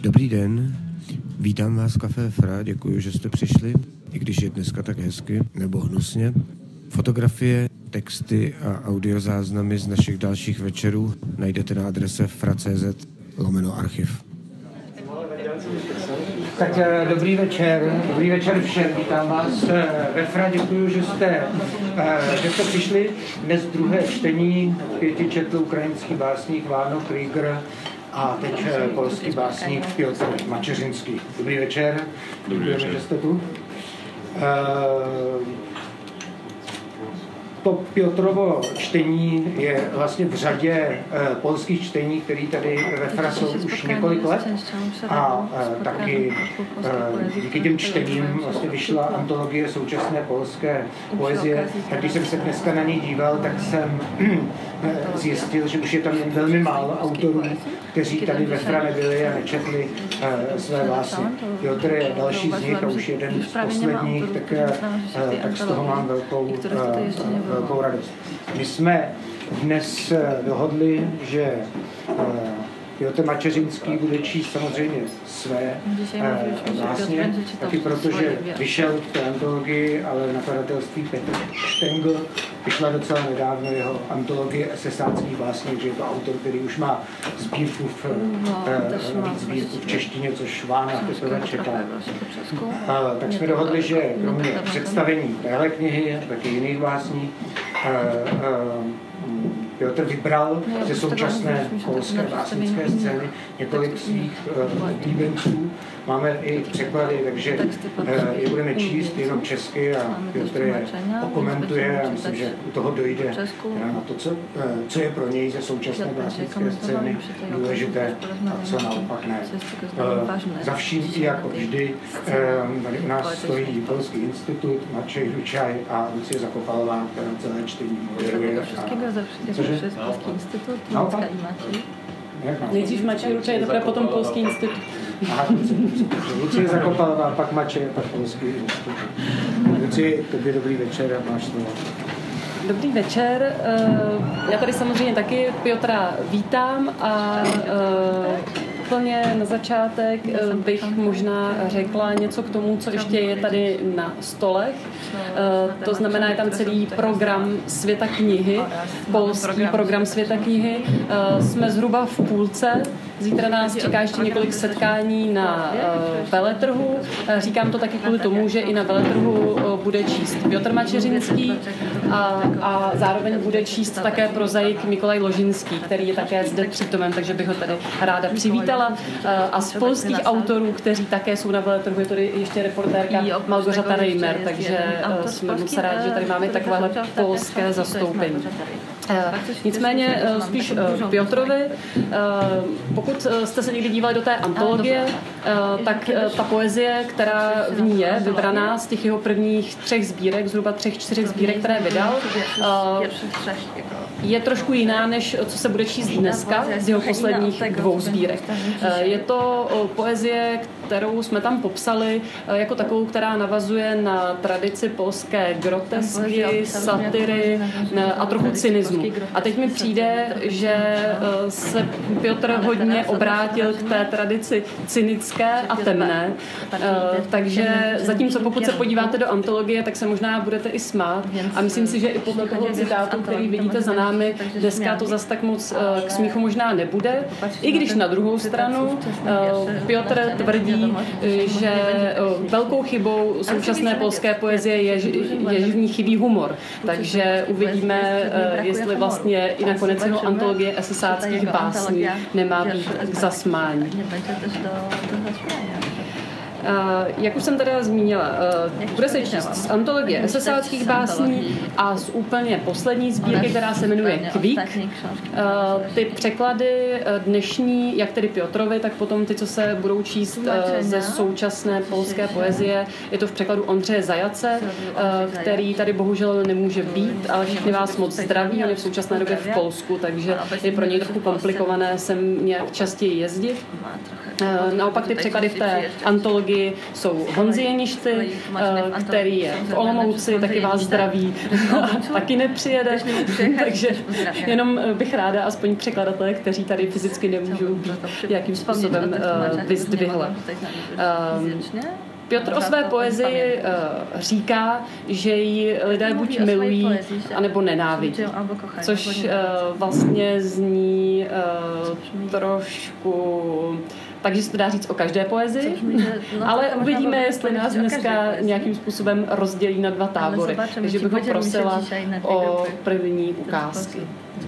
Dobrý den, vítám vás v Café Fra, děkuji, že jste přišli, i když je dneska tak hezky, nebo hnusně. Fotografie, texty a audiozáznamy z našich dalších večerů najdete na adrese fra.cz/archiv. Tak dobrý večer všem, vítám vás ve Fra, děkuji, že jste přišli. Dnes druhé čtení, 5 četl ukrajinský básník Váno Krieger a teď polský básník Piotr Mačeřinský. Dobrý večer, děkujeme, že jste tu. To Piotrovo čtení je vlastně v řadě polských čtení, které tady ve Fra jsou už několik let. A taky díky těm čtením vlastně vyšla antologie současné polské poezie. Tak když jsem se dneska na ní díval, tak jsem zjistil, že už je tam jen velmi málo autorů, kteří tady ve Fra nebyli a nečetli své básně. Piotr je další z nich a už jeden z posledních, tak z toho mám velkou radost. My jsme dnes dohodli, že Piotr Mačeřinský bude číst samozřejmě své básně, taky protože vyšel v té antologii, ale nakladatelství Petr Štengl vyšla docela nedávno jeho antologie esesáckých básní, že je to autor, který už má sbírku v češtině, což Vána teprve čeká. Tak jsme dohodli, že kromě představení téhle knihy, taky jiných básní, Piotr vybral ze současné polské básnické scény několik svých oblíbenců. Máme i překlady, takže je budeme číst jenom česky a Piotr je okomentuje a myslím, že u toho dojde na to, co je pro něj ze současné básnické scény důležité a co naopak ne. Za vším i jako vždy tady u nás stojí Polský institut, Mačej Hručaj a Lucie Zakopalová, která celé čtení moderuje. Polský institut, Macka i Matěj. Nejdřív Mačej Hručaj, teprve potom Polský institut. Lucie Zakopalová, pak Mačej, pak Polský institut. Lucie, tobě dobrý večer a máš slovo. Dobrý večer. Já tady samozřejmě taky Piotra vítám a úplně na začátek bych možná řekla něco k tomu, co ještě je tady na stolech. To znamená, je tam celý program Světa knihy, polský program Světa knihy. Jsme zhruba v půlce. Zítra nás čeká ještě několik setkání na veletrhu. Říkám to taky kvůli tomu, že i na veletrhu bude číst Piotr Mačeřinský a zároveň bude číst také prozaik Mikolaj Ložinský, který je také zde přítomen, takže bych ho tady ráda přivítala. A z polských autorů, kteří také jsou na veletrhu, je tady ještě reportérka Malgorzata Reimer, takže jsme moc rádi, že tady máme takovéhle polské zastoupení. Nicméně spíš Piotrovi, pokud jste se někdy dívali do té antologie, tak ta poezie, která v ní je vybraná z těch jeho prvních 3 sbírek, zhruba 3-4 sbírek, které vydal, je trošku jiná, než co se bude číst dneska z jeho posledních 2 sbírek. Je to poezie, kterou jsme tam popsali jako takovou, která navazuje na tradici polské grotesky, satyry a trochu cynismu. A teď mi přijde, že se Piotr hodně obrátil k té tradici cynické a temné. Takže zatímco pokud se podíváte do antologie, tak se možná budete i smát. A myslím si, že i podle toho citátu, který vidíte za námi, dneska to zas tak moc k smíchu možná nebude. I když na druhou stranu Piotr tvrdí, že velkou chybou současné polské poezie je, že v ní chybí humor. Takže uvidíme, jestli vlastně i nakonec jeho antologie esesáckých básní nemá být k zasmání. Jak už jsem teda zmínila, bude se číst z antologie esesáckých básní a z úplně poslední sbírky, která se jmenuje Kvík. Ty překlady dnešní, jak tedy Piotrovi, tak potom ty, co se budou číst ze současné polské poezie, je to v překladu Ondřeje Zajace, který tady bohužel nemůže být, ale všichni vás moc zdraví, on je v současné době v Polsku, takže je pro něj trochu komplikované sem nějak častěji jezdit. Naopak ty překlady v té antologii Prahy jsou Honzi Jeništy, který je v Olomouci, taky vás zdraví, taky nepřijede, takže jenom bych ráda aspoň překladatelé, kteří tady fyzicky nemůžou být, jakým způsobem vyzdvihla. Piotr o své poezii říká, že ji lidé buď milují, anebo nenávidí. Což vlastně zní trošku... Takže se to dá říct o každé poezii, ale uvidíme, jestli nás dneska nějakým způsobem rozdělí na dva tábory. Takže bych ho prosila o první ukázky.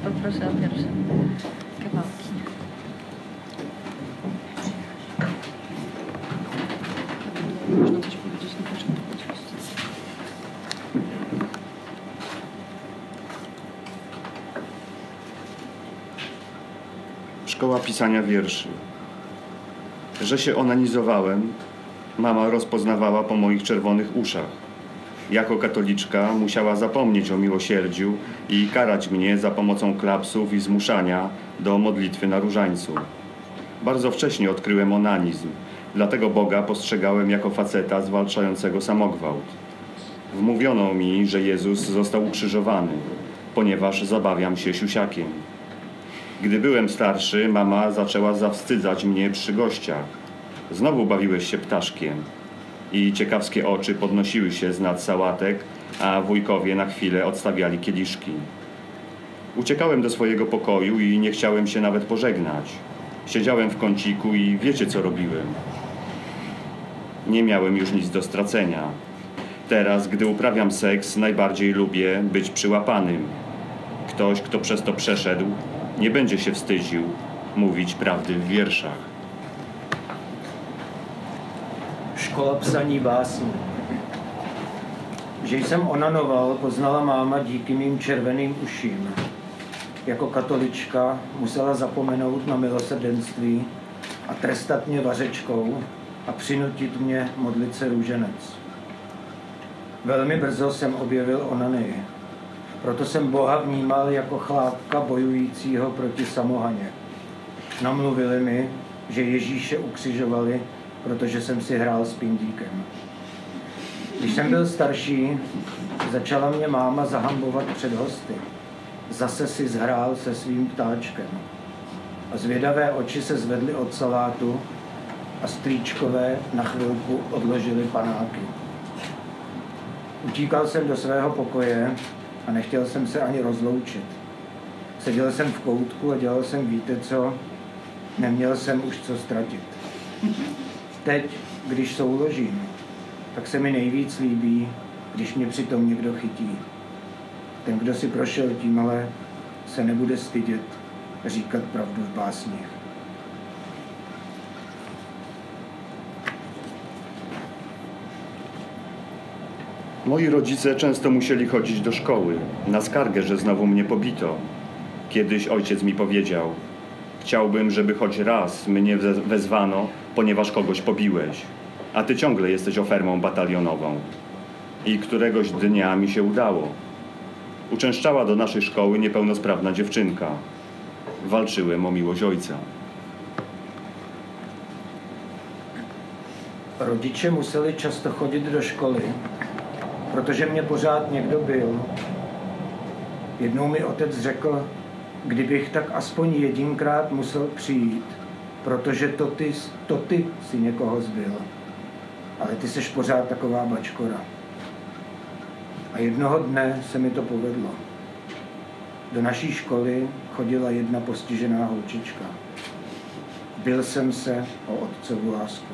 Szkoła pisania wierszy. Że się onanizowałem, mama rozpoznawała po moich czerwonych uszach. Jako katoliczka musiała zapomnieć o miłosierdziu i karać mnie za pomocą klapsów i zmuszania do modlitwy na różańcu. Bardzo wcześnie odkryłem onanizm, dlatego Boga postrzegałem jako faceta zwalczającego samogwałt. Wmówiono mi, że Jezus został ukrzyżowany, ponieważ zabawiam się siusiakiem. Gdy byłem starszy, mama zaczęła zawstydzać mnie przy gościach. Znowu bawiłeś się ptaszkiem. I ciekawskie oczy podnosiły się z nad sałatek, a wujkowie na chwilę odstawiali kieliszki. Uciekałem do swojego pokoju i nie chciałem się nawet pożegnać. Siedziałem w kąciku i wiecie, co robiłem. Nie miałem już nic do stracenia. Teraz, gdy uprawiam seks, najbardziej lubię być przyłapanym. Ktoś, kto przez to przeszedł, nie będzie się wstydził mówić prawdy w wierszach. Škola psaní básní. Že jsem onanoval, poznala máma díky mým červeným uším. Jako katolička musela zapomenout na milosrdenství a trestat mě vařečkou a přinutit mě modlit se růženec. Velmi brzo jsem objevil onanii. Proto jsem Boha vnímal jako chlápka bojujícího proti samohaně. Namluvili mi, že Ježíše ukřižovali, protože jsem si hrál s pindíkem. Když jsem byl starší, začala mě máma zahambovat před hosty. Zase si zhrál se svým ptáčkem. A zvědavé oči se zvedly od salátu a strýčkové na chvilku odložili panáky. Utíkal jsem do svého pokoje a nechtěl jsem se ani rozloučit. Seděl jsem v koutku a dělal jsem víte co, neměl jsem už co ztratit. Teď, když souložím, tak se mi nejvíc líbí, když mě přitom někdo chytí. Ten, kdo si prošel tímhle, se nebude stydět říkat pravdu v básních. Moi rodzice często musieli chodzić do szkoły, na skargę, że znowu mnie pobito. Kiedyś ojciec mi powiedział: chciałbym, żeby choć raz mnie wezwano, ponieważ kogoś pobiłeś, a ty ciągle jesteś ofermą batalionową. I któregoś dnia mi się udało. Uczęszczała do naszej szkoły niepełnosprawna dziewczynka. Walczyłem o miłość ojca. Rodiče museli často chodit do školy, protože mě pořád někdo byl. Jednou mi otec řekl, kdybych tak aspoň jedinkrát musel přijít, protože to ty si někoho zbyl. Ale ty seš pořád taková bačkora. A jednoho dne se mi to povedlo. Do naší školy chodila jedna postižená holčička. Bil jsem se o otcovu lásku.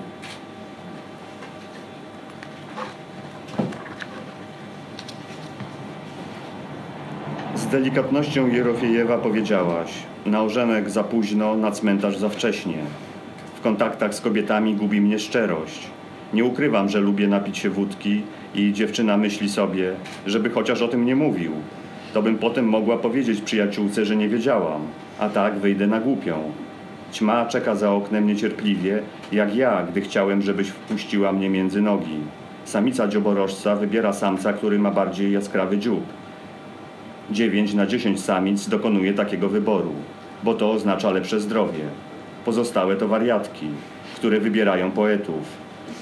Z delikatnością Jerofiejewa powiedziałaś: na orzenek za późno, na cmentarz za wcześnie. W kontaktach z kobietami gubi mnie szczerość. Nie ukrywam, że lubię napić się wódki i dziewczyna myśli sobie, żeby chociaż o tym nie mówił. To bym potem mogła powiedzieć przyjaciółce, że nie wiedziałam, a tak wyjdę na głupią. Ćma czeka za oknem niecierpliwie, jak ja, gdy chciałem, żebyś wpuściła mnie między nogi. Samica dzioborożca wybiera samca, który ma bardziej jaskrawy dziób. 9 na 10 samic dokonuje takiego wyboru, bo to oznacza lepsze zdrowie. Pozostałe to wariatki, które wybierają poetów.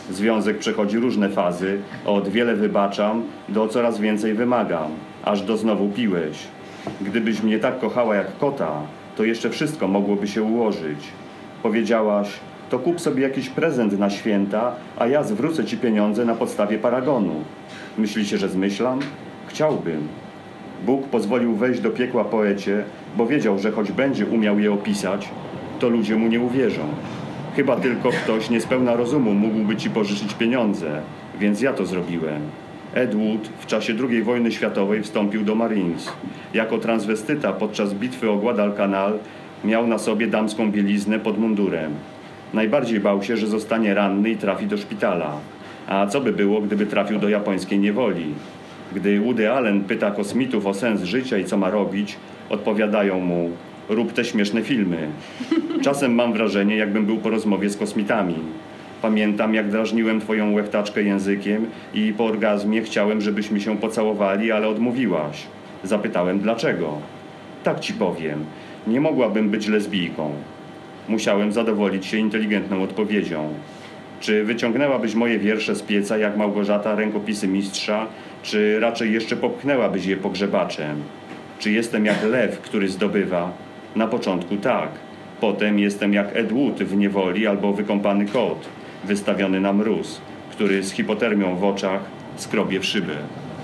Związek przechodzi różne fazy, od wiele wybaczam do coraz więcej wymagam, aż do znowu piłeś. Gdybyś mnie tak kochała jak kota, to jeszcze wszystko mogłoby się ułożyć. Powiedziałaś, to kup sobie jakiś prezent na święta, a ja zwrócę ci pieniądze na podstawie paragonu. Myślicie, że zmyślam? Chciałbym. Bóg pozwolił wejść do piekła poecie, bo wiedział, że choć będzie umiał je opisać, to ludzie mu nie uwierzą. Chyba tylko ktoś niespełna rozumu mógłby ci pożyczyć pieniądze, więc ja to zrobiłem. Ed Wood w czasie II wojny światowej wstąpił do Marines. Jako transwestyta podczas bitwy o Guadalcanal miał na sobie damską bieliznę pod mundurem. Najbardziej bał się, że zostanie ranny i trafi do szpitala. A co by było, gdyby trafił do japońskiej niewoli? Gdy Woody Allen pyta kosmitów o sens życia i co ma robić, odpowiadają mu: rób te śmieszne filmy. Czasem mam wrażenie, jakbym był po rozmowie z kosmitami. Pamiętam, jak drażniłem twoją łechtaczkę językiem i po orgazmie chciałem, żebyśmy się pocałowali, ale odmówiłaś. Zapytałem, dlaczego. Tak ci powiem, nie mogłabym być lesbijką. Musiałem zadowolić się inteligentną odpowiedzią. Czy wyciągnęłabyś moje wiersze z pieca jak Małgorzata rękopisy mistrza, czy raczej jeszcze popchnęłabyś je pogrzebaczem? Czy jestem jak lew, który zdobywa? Na początku tak. Potem jestem jak Ed Wood w niewoli albo wykąpany kot, wystawiony na mróz, który z hipotermią w oczach skrobie w szybę.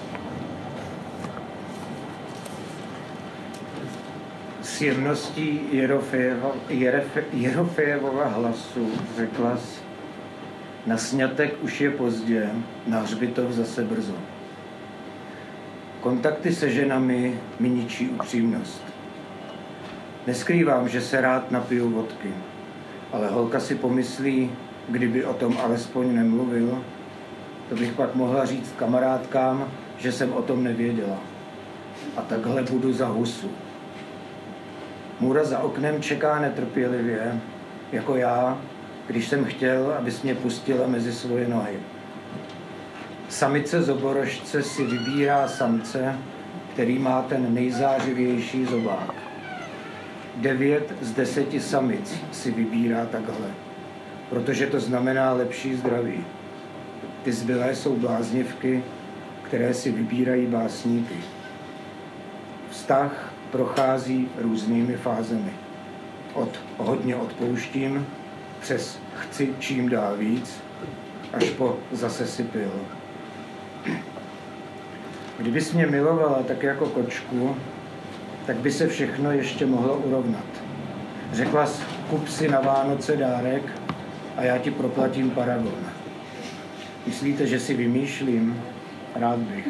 S jemností Jerofejeva hlasu řekla-s: na sňatek už je pozdě, na hřbitov zase brzo. Kontakty se ženami mi ničí upřímnost. Neskrývám, že se rád napiju vodky, ale holka si pomyslí, kdyby o tom alespoň nemluvil, to bych pak mohla říct kamarádkám, že jsem o tom nevěděla. A takhle budu za husu. Můra za oknem čeká netrpělivě, jako já, když jsem chtěl, abys mě pustila mezi svoje nohy. Samice zoborožce si vybírá samce, který má ten nejzářivější zobák. 9 z 10 samic si vybírá takhle, protože to znamená lepší zdraví. Ty zbylé jsou bláznivky, které si vybírají básníky. Vztah prochází různými fázemi. Od hodně odpouštím, přes chci čím dál víc, až po zase si pil. Kdybys mě milovala tak jako kočku, tak by se všechno ještě mohlo urovnat. Řekla jsi, kup si na Vánoce dárek a já ti proplatím paragon. Myslíte, že si vymýšlím? Rád bych.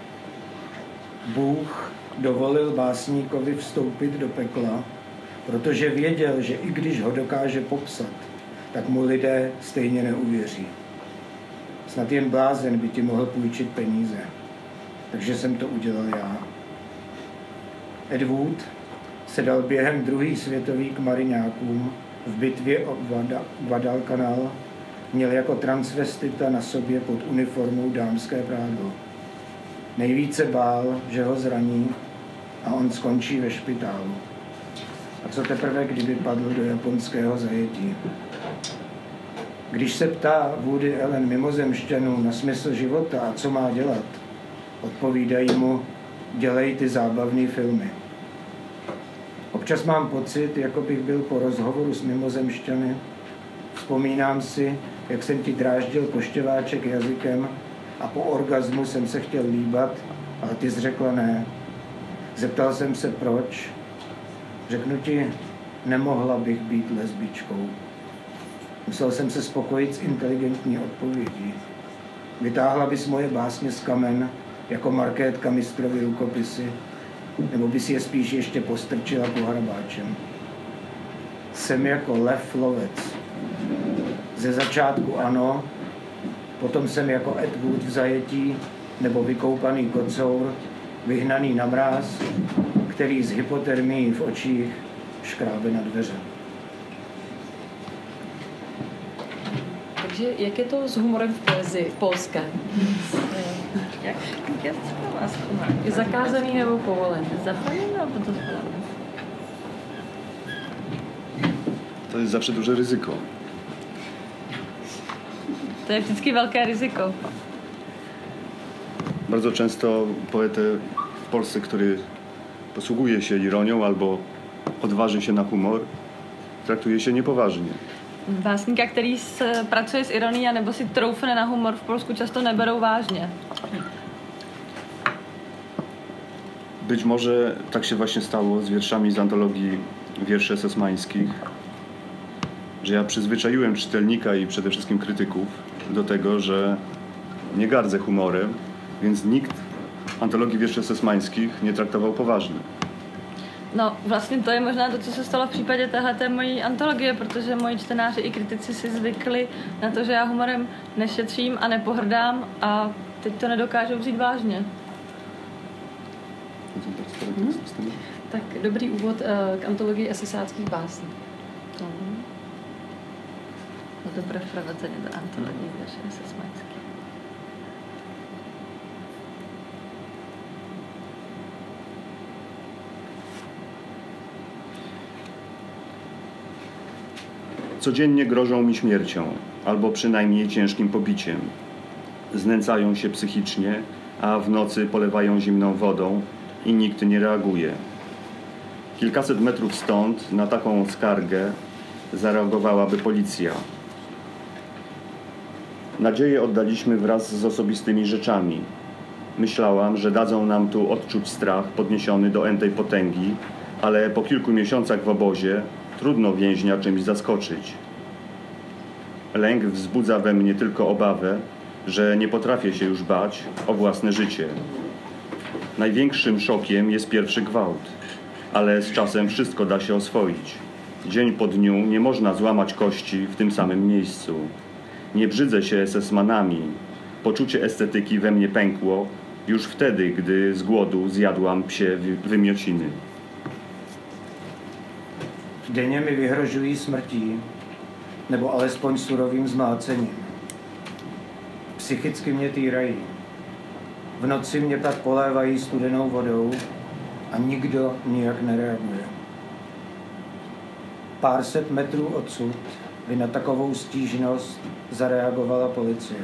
Bůh dovolil básníkovi vstoupit do pekla, protože věděl, že i když ho dokáže popsat, tak mu lidé stejně neuvěří. Snad jen blázen by ti mohl půjčit peníze. Takže jsem to udělal já. Ed Wood se dal během druhé světové k mariňákům v bitvě o Guadalcanal, měl jako transvestita na sobě pod uniformou dámské prádlo. Nejvíce bál, že ho zraní a on skončí ve špitálu. A co teprve, kdyby padl do japonského zajetí? Když se ptá Woody Allen mimozemšťanů na smysl života a co má dělat, odpovídají mu: dělej ty zábavné filmy. Občas mám pocit, jako bych byl po rozhovoru s mimozemšťany. Vzpomínám si, jak jsem ti dráždil poštěváček jazykem a po orgazmu jsem se chtěl líbat, ale ty jsi řekla ne. Zeptal jsem se proč. Řeknu ti, nemohla bych být lesbičkou. Musel jsem se spokojit s inteligentní odpovědí. Vytáhla bys moje básně z kamen jako markétka mistrovy rukopisy, nebo bys je spíš ještě postrčila pohrabáčem. Jsem jako lev lovec. Ze začátku ano, potom jsem jako Ed Wood v zajetí, nebo vykoupaný kocour, vyhnaný na mráz, který s hypotermií v očích škrábe na dveře. Takže jak je to s humorem v poezii polské? Jak je to vás humor? Je zakázaný nebo povolený? Zapojený nebo dozvolený? To jest zawsze duże ryzyko. To je vždycky velké riziko. Bardzo często poetę w Polsce, który posługuje się ironią albo odważy się na humor, traktuje się niepoważnie. Básníka, který pracuje s ironií a nebo si troufne na humor, v Polsku často neberou vážně. Być może tak się właśnie stało z wierszami z antologii wierszy esesmańskich, że ja przyzwyczaiłem czytelnika i przede wszystkim krytyków do tego, że nie gardzę humorem, więc nikt antologii wierszy esesmańskich nie traktował poważnie. No, vlastně to je možná to, co se stalo v případě téhleté mojí antologie, protože moji čtenáři i kritici si zvykli na to, že já humorem nešetřím a nepohrdám a teď to nedokážou vzít vážně. Tak dobrý úvod k antologii esesáckých básní. No dobré vprowadzenie do antologii wierszy esesmańskich. Codziennie grożą mi śmiercią, albo przynajmniej ciężkim pobiciem. Znęcają się psychicznie, a w nocy polewają zimną wodą i nikt nie reaguje. Kilkaset metrów stąd na taką skargę zareagowałaby policja. Nadzieję oddaliśmy wraz z osobistymi rzeczami. Myślałam, że dadzą nam tu odczuć strach podniesiony do entej potęgi, ale po kilku miesiącach w obozie trudno więźnia czymś zaskoczyć. Lęk wzbudza we mnie tylko obawę, że nie potrafię się już bać o własne życie. Największym szokiem jest pierwszy gwałt, ale z czasem wszystko da się oswoić. Dzień po dniu nie można złamać kości w tym samym miejscu. Nie brzydzę się esesmanami. Poczucie estetyki we mnie pękło już wtedy, gdy z głodu zjadłam psie wymiociny. Denně mi vyhrožují smrtí, nebo alespoň surovým zmácením. Psychicky mě týrají. V noci mě pak polévají studenou vodou a nikdo nijak nereaguje. Pár set metrů odsud by na takovou stížnost zareagovala policie.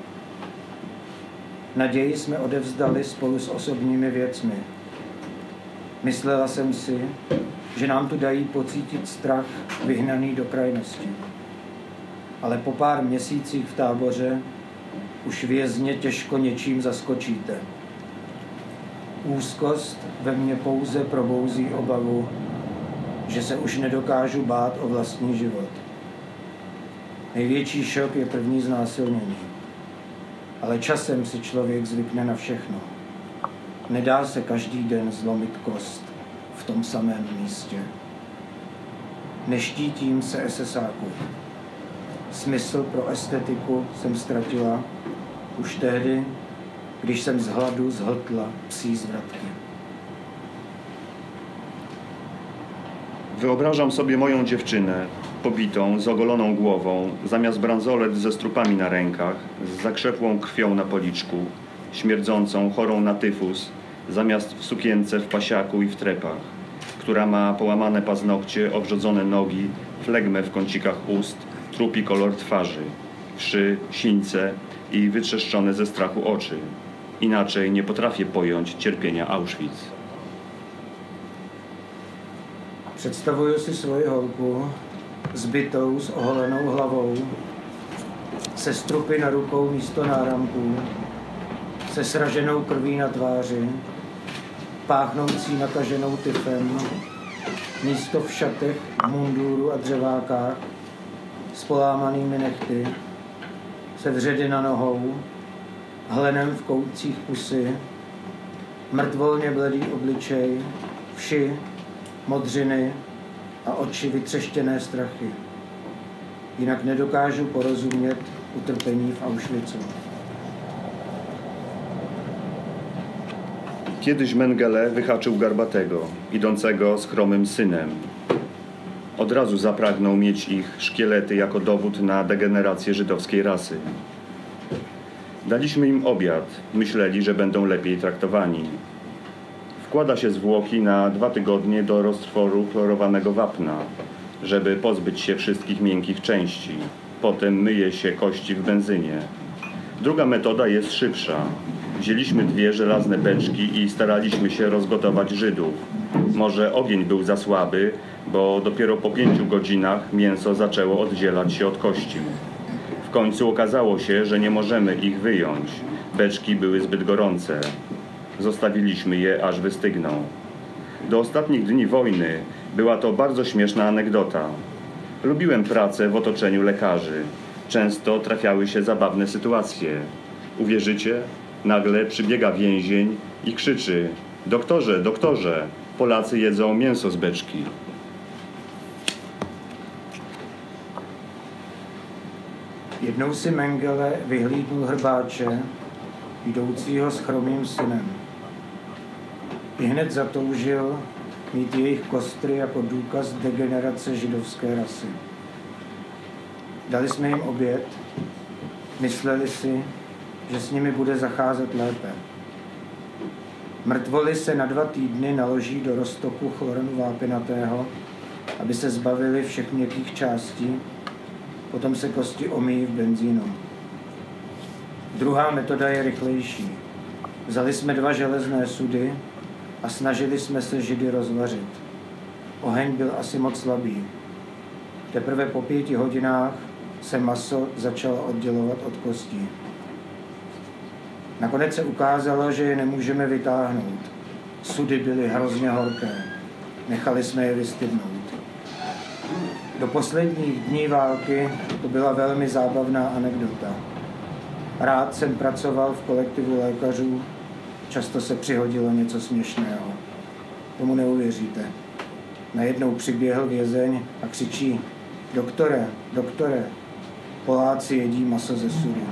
Naději jsme odevzdali spolu s osobními věcmi. Myslela jsem si, že nám tu dají pocítit strach vyhnaný do krajnosti. Ale po pár měsících v táboře už vězně těžko něčím zaskočíte. Úzkost ve mně pouze probouzí obavu, že se už nedokážu bát o vlastní život. Největší šok je první znásilnění. Ale časem si člověk zvykne na všechno. Nedá se každý den zlomit kost v tom samém místě. Neštítím se esesáku. Smysl pro estetiku jsem ztratila už tehdy, když jsem z hladu zhltla psí zvratky. Wyobrażam sobie moją dziewczynę, pobitą, z ogoloną głową, zamiast bransolet ze strupami na rękach, z zakrzepłą krwią na policzku, śmierdzącą, chorą na tyfus, zamiast w sukience, w pasiaku i w trepach, która ma połamane paznokcie, obrzodzone nogi, flegmę w kącikach ust, trupi kolor twarzy, wszy, sińce i wytrzeszczone ze strachu oczy. Inaczej nie potrafię pojąć cierpienia Auschwitz. Představuju si svoji holku zbytou s oholenou hlavou, se strupy na rukou místo náramků, se sraženou krví na tváři, páchnoucí nakaženou tyfem, místo v šatech, mundúru a dřevákách, s polámanými nehty, se vředy na nohou, hlenem v koutcích pusy, mrtvolně bledý obličej, vši, modřiny a oči vytřeštěné strachy. Jinak nedokážu porozumět utrpení v Auschwitzu. Kiedyś Mengele wyhaczył Garbatego, idącego z chromym synem. Od razu zapragnął mieć ich szkielety jako dowód na degenerację żydowskiej rasy. Daliśmy im obiad, myśleli, że będą lepiej traktowani. Wkłada się zwłoki na 2 tygodnie do roztworu chlorowanego wapna, żeby pozbyć się wszystkich miękkich części. Potem myje się kości w benzynie. Druga metoda jest szybsza. Wzięliśmy 2 żelazne beczki i staraliśmy się rozgotować Żydów. Może ogień był za słaby, bo dopiero po 5 godzinach mięso zaczęło oddzielać się od kości. W końcu okazało się, że nie możemy ich wyjąć. Beczki były zbyt gorące. Zostawiliśmy je, aż wystygną. Do ostatnich dni wojny była to bardzo śmieszna anegdota. Lubiłem pracę w otoczeniu lekarzy. Często trafiały się zabawne sytuacje. Uwierzycie? Nagle przybiega więzień i krzyczy: doktorze, doktorze, Polacy jedzą mięso z beczki. Jednou si Mengele vyhlídnul hrbáče, jdoucího s chromým synem. Ihned zatoužil mít jejich kostry jako důkaz degenerace židovské rasy. Dali jsme jim oběd, mysleli si, že s nimi bude zacházet lépe. Mrtvoly se na 2 týdny naloží do roztoku chlorenu vápinatého, aby se zbavili všech měkkých částí, potom se kosti omýjí v benzínu. Druhá metoda je rychlejší. Vzali jsme 2 železné sudy a snažili jsme se Židy rozvařit. Oheň byl asi moc slabý. Teprve po 5 hodinách se maso začalo oddělovat od kostí. Nakonec se ukázalo, že je nemůžeme vytáhnout. Sudy byly hrozně horké. Nechali jsme je vystydnout. Do posledních dní války to byla velmi zábavná anekdota. Rád jsem pracoval v kolektivu lékařů, často se přihodilo něco směšného. Tomu neuvěříte. Najednou přiběhl vězeň a křičí: doktore, doktore, Poláci jedí maso ze sudu.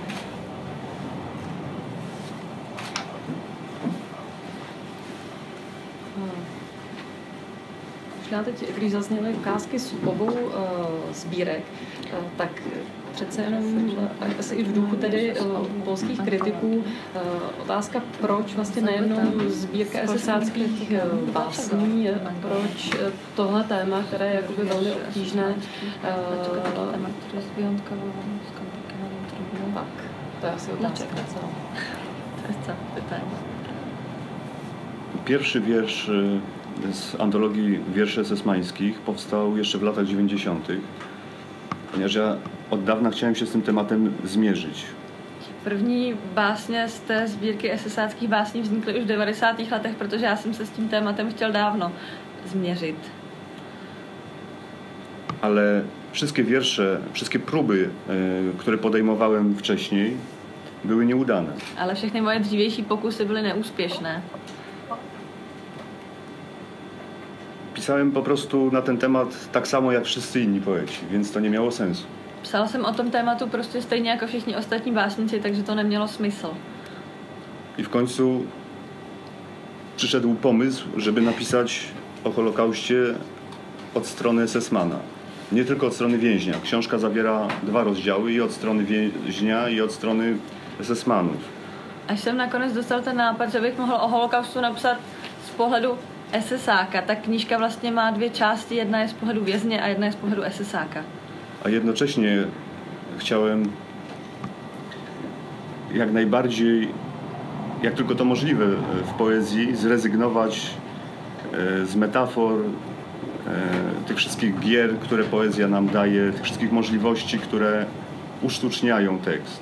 Možná teď, když zazněly ukázky z obou sbírek, tak přece jenom asi i v duchu tedy polských kritiků otázka, proč vlastně najednou sbírka esesáckých básní, proč tohle téma, které je jakoby velmi obtížné. Tak, to je asi otázka. To jest pytanie. Pierwszy wiersz z antologii wierszy esesmańskich powstał jeszcze w latach 90., ponieważ ja od dawna chciałem się z tym tematem zmierzyć. První básně z té sbírky esesáckých básní vznikly už v 90. letech, protože já jsem se s tím tématem chtěl dávno změřit. Ale wszystkie wiersze, wszystkie próby, które podejmowałem wcześniej, były nieudane. Ale všechny moje dřívější pokusy byly neúspěšné. Pisałem po prostu na ten temat tak samo jak wszyscy inni poeci, więc to nie miało sensu. Psal jsem o tom tématu prostě stejně jako všichni ostatní básníci, takže to nemělo smysl. I w końcu przyszedł pomysł, żeby napisać o Holokauście od strony esesmana. Nie tylko od strony więźnia. Książka zawiera 2 rozdziały, i od strony więźnia, i od strony esesmanów. Až jsem nakonec dostal ten nápad, že bych mohl o holokaustu napsat z pohledu esesáka, tak knížka vlastně má 2 části. Jedna je z pohledu vězně a jedna je z pohledu esesáka. A jednocześnie chciałem jak najbardziej, jak tylko to możliwe w poezji, zrezygnować z metafor, tych wszystkich gier, które poezja nam daje, tych wszystkich możliwości, które usztuczniają tekst.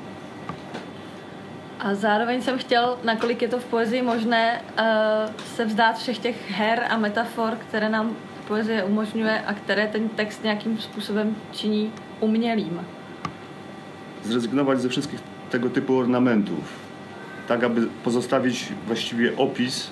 A zároveň jsem chtěl, nakolik je to v poezii možné, se vzdát všech těch her a metafor, které nám poezie umožňuje a které ten text nějakým způsobem činí umělým. Zrezygnować ze wszystkich tego typu ornamentów, tak aby pozostawić właściwie opis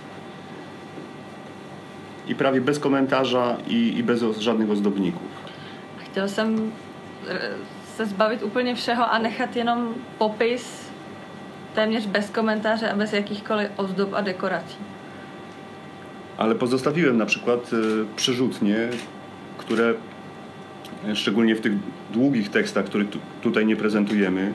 i prawie bez komentarza i bez żadnych ozdobników. Chtěl jsem se zbavit úplně všeho a nechat jenom popis téměř bez komentáře a bez jakýchkoliv ozdob a dekorací. Ale pozostawiłem na przykład przerzutnie, które szczególnie w tych długich tekstach, które tutaj nie prezentujemy,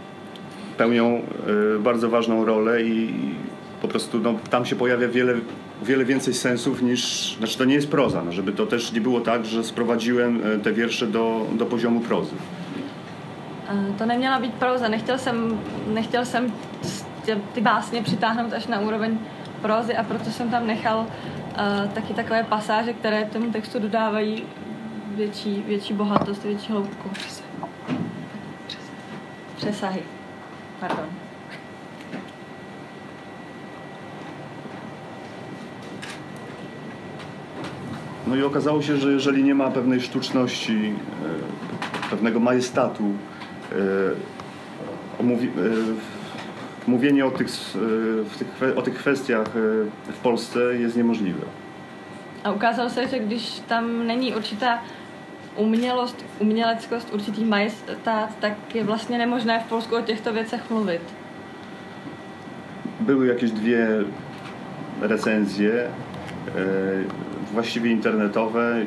pełnią bardzo ważną rolę i po prostu tam się pojawia wiele wiele więcej sensów niż... Znaczy to nie jest proza, no, żeby to też nie było tak, że sprowadziłem te wiersze do poziomu prozy. To neměla být proza, nechtěl jsem ty básně přitáhnout až na úroveň prózy a proto jsem tam nechal taky takové pasáže, které tomu textu dodávají větší bohatost, větší hloubku. Přesahy. Pardon. No i okazało się, że jeżeli nie ma pewnej sztuczności, pewnego majestatu, mówienie o tych kwestiach w Polsce jest niemożliwe. A ukázalo se, že když tam není určitá uměleckost, určitý majestát, tak je vlastně nemožné v Polsku o těchto věcech mluvit. Były jakieś 2 recenzje, właściwie internetowe,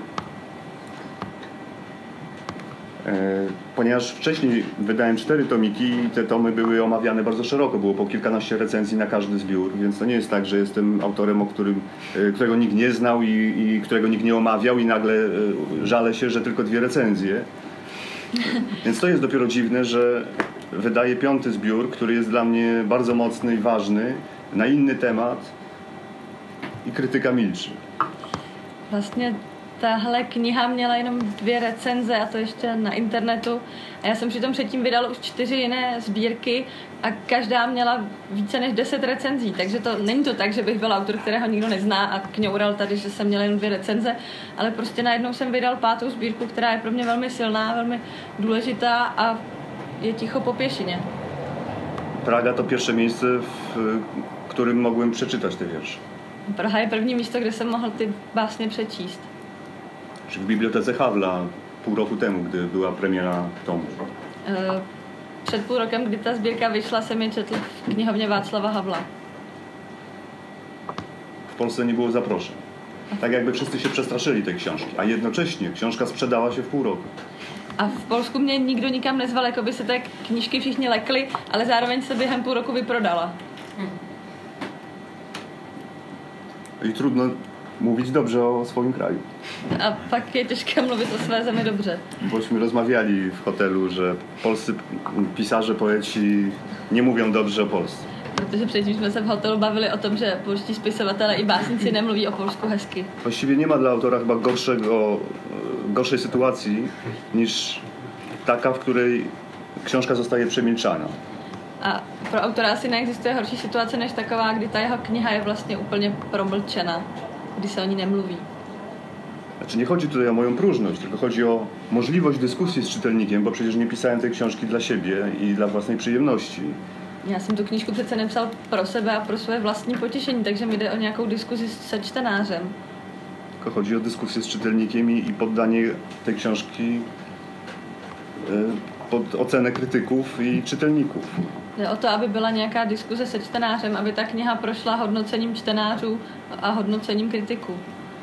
ponieważ wcześniej wydałem 4 tomiki i te tomy były omawiane bardzo szeroko, było po kilkanaście recenzji na każdy zbiór, więc to nie jest tak, że jestem autorem, którego nikt nie znał i którego nikt nie omawiał i nagle żalę się, że tylko 2 recenzje. Więc to jest dopiero dziwne, że wydaję 5. zbiór, który jest dla mnie bardzo mocny i ważny, na inny temat i krytyka milczy. Vlastně tahle kniha měla jenom 2 recenze a to ještě na internetu. A já jsem přitom předtím vydala už 4 jiné sbírky a každá měla více než 10 recenzí. Takže to není to tak, že bych byl autor, kterého nikdo nezná a kňoural tady, že jsem měla jen 2 recenze, ale prostě najednou jsem vydal 5. sbírku, která je pro mě velmi silná, velmi důležitá a je ticho po pěšině. Praga to pierwsze miejsce, w którym mogłem przeczytać te wiersze. Praha je první místo, kde jsem mohl ty básně přečíst. W bibliotece Havla pół roku temu, gdy była premiera tomu. Před půl rokem, kdy ta sbírka vyšla, jsem je četl v knihovně Václava Havla. W Polsce nie było zaproszeń. Tak jakby wszyscy się przestraszyli tej książki, a jednocześnie książka sprzedała się w pół roku. A v Polsku mě nikdo nikam nezval, jako by se té knížky všichni lekli, ale zároveň se během půl roku vyprodala. I trudno mówić dobrze o swoim kraju. A pak je těžké mluvit o své zemi dobře. Bośmy rozmawiali w hotelu, że polscy pisarze, poeci nie mówią dobrze o Polsce. Protože předtím jsme se v hotelu bavili o tom, že polští spisovatelé i básníci nemluví o Polsku hezky. Właściwie nie ma dla autora chyba gorszej sytuacji niż taka, w której książka zostaje przemilczana. A pro autora asi neexistuje horší situace než taková, kdy ta jeho kniha je vlastně úplně promlčena, kdy se o ní nemluví. Znaczy nie chodzi tutaj o moją próżność, tylko chodzi o możliwość dyskusji z czytelnikiem, bo przecież nie pisałem tej książki dla siebie i dla własnej przyjemności. Já jsem tu knížku přece nepsal pro sebe a pro svoje vlastní potěšení, takže mi jde o nějakou diskuzi se čtenářem. Tylko chodzi o dyskusję z czytelnikiem i poddanie tej książki pod ocenę krytyków i czytelników. Jde o to, aby byla nějaká diskuze se čtenářem, aby ta kniha prošla hodnocením čtenářů a hodnocením kritiků.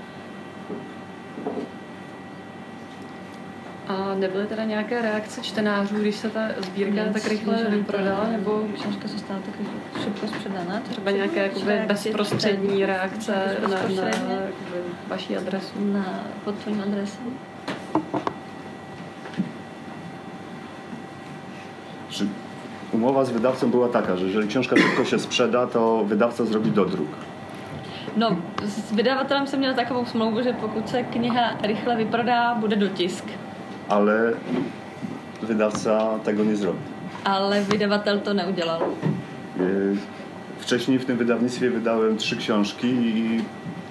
A nebyly teda nějaké reakce čtenářů, když se ta sbírka tak rychle prodala, nebo książka zostala tak szybko sprzedana? Třeba nějaké jakoby bezprostřední reakce na vaší adresu? Pod tvým adresem? Umowa z wydawcą była taka, że jeżeli książka szybko się sprzeda, to wydawca zrobi dodruk. No, s vydavatelem jsem měl takovou smlouvu, že pokud se kniha rychle vyprodá, bude dotisk. Ale wydawca tego nie zrobił. Ale wydavatel to neudělal. Wcześniej w tym wydawnictwie wydałem 3 książki i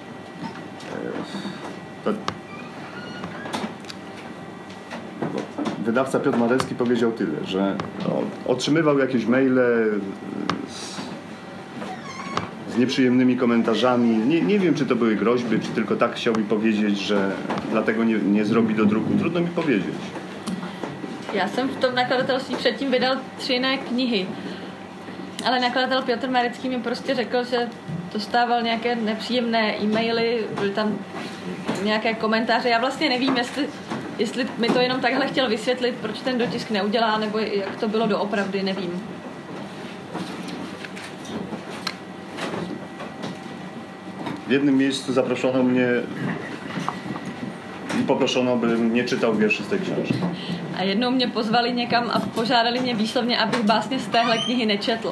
wydawca Piotr Marewski powiedział tyle, że otrzymywał jakieś maile z nieprzyjemnymi komentarzami. Nie wiem, czy to były groźby, czy tylko tak chciał mi powiedzieć, że dlatego nie zrobi do druku. Trudno mi powiedzieć. Já jsem v tom nakladatelství předtím vydal 3 jiné knihy. Ale nakladatel Piotr Marecký mi prostě řekl, že dostával nějaké nepříjemné e-maily, byly tam nějaké komentáře. Já vlastně nevím, jestli mi to jenom takhle chtěl vysvětlit, proč ten dotisk neudělá, nebo jak to bylo doopravdy, nevím. W jednym miejscu zaproszono mnie i poproszono, bym nie czytał wierszy z tej książki. A jednou mě pozvali někam a požádali mě výslovně, abych básně z téhle knihy nečetl.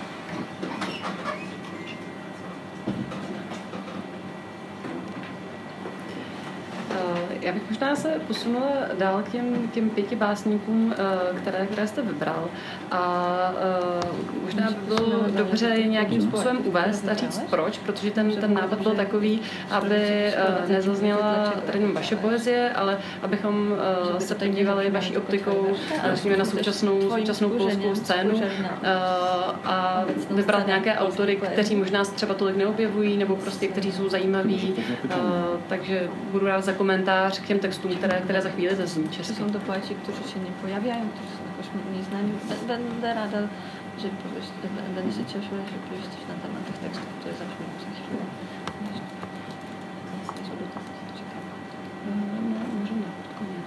Já bych možná se posunula dál k těm 5 básníkům, které jste vybral. A možná by bylo dobře je nějakým způsobem uvést a říct proč, protože ten nápad byl takový, aby nezazněla tady jenom vaše poezie, ale abychom se podívali vaší optikou na současnou polskou scénu a vybrat nějaké autory, kteří možná se třeba tolik neobjevují, nebo prostě kteří jsou zajímaví. Takže budu rád za komentář k těm textům, které za chvíli zazní česky. Jsou to poeti, kteří se nepojaví, kteří jsou jakož neznámí. Będę ráda, že będę się cieszyła, że powiesz coś na temat tych tekstów, które zaczną za chwilę. Możemy pod koniec.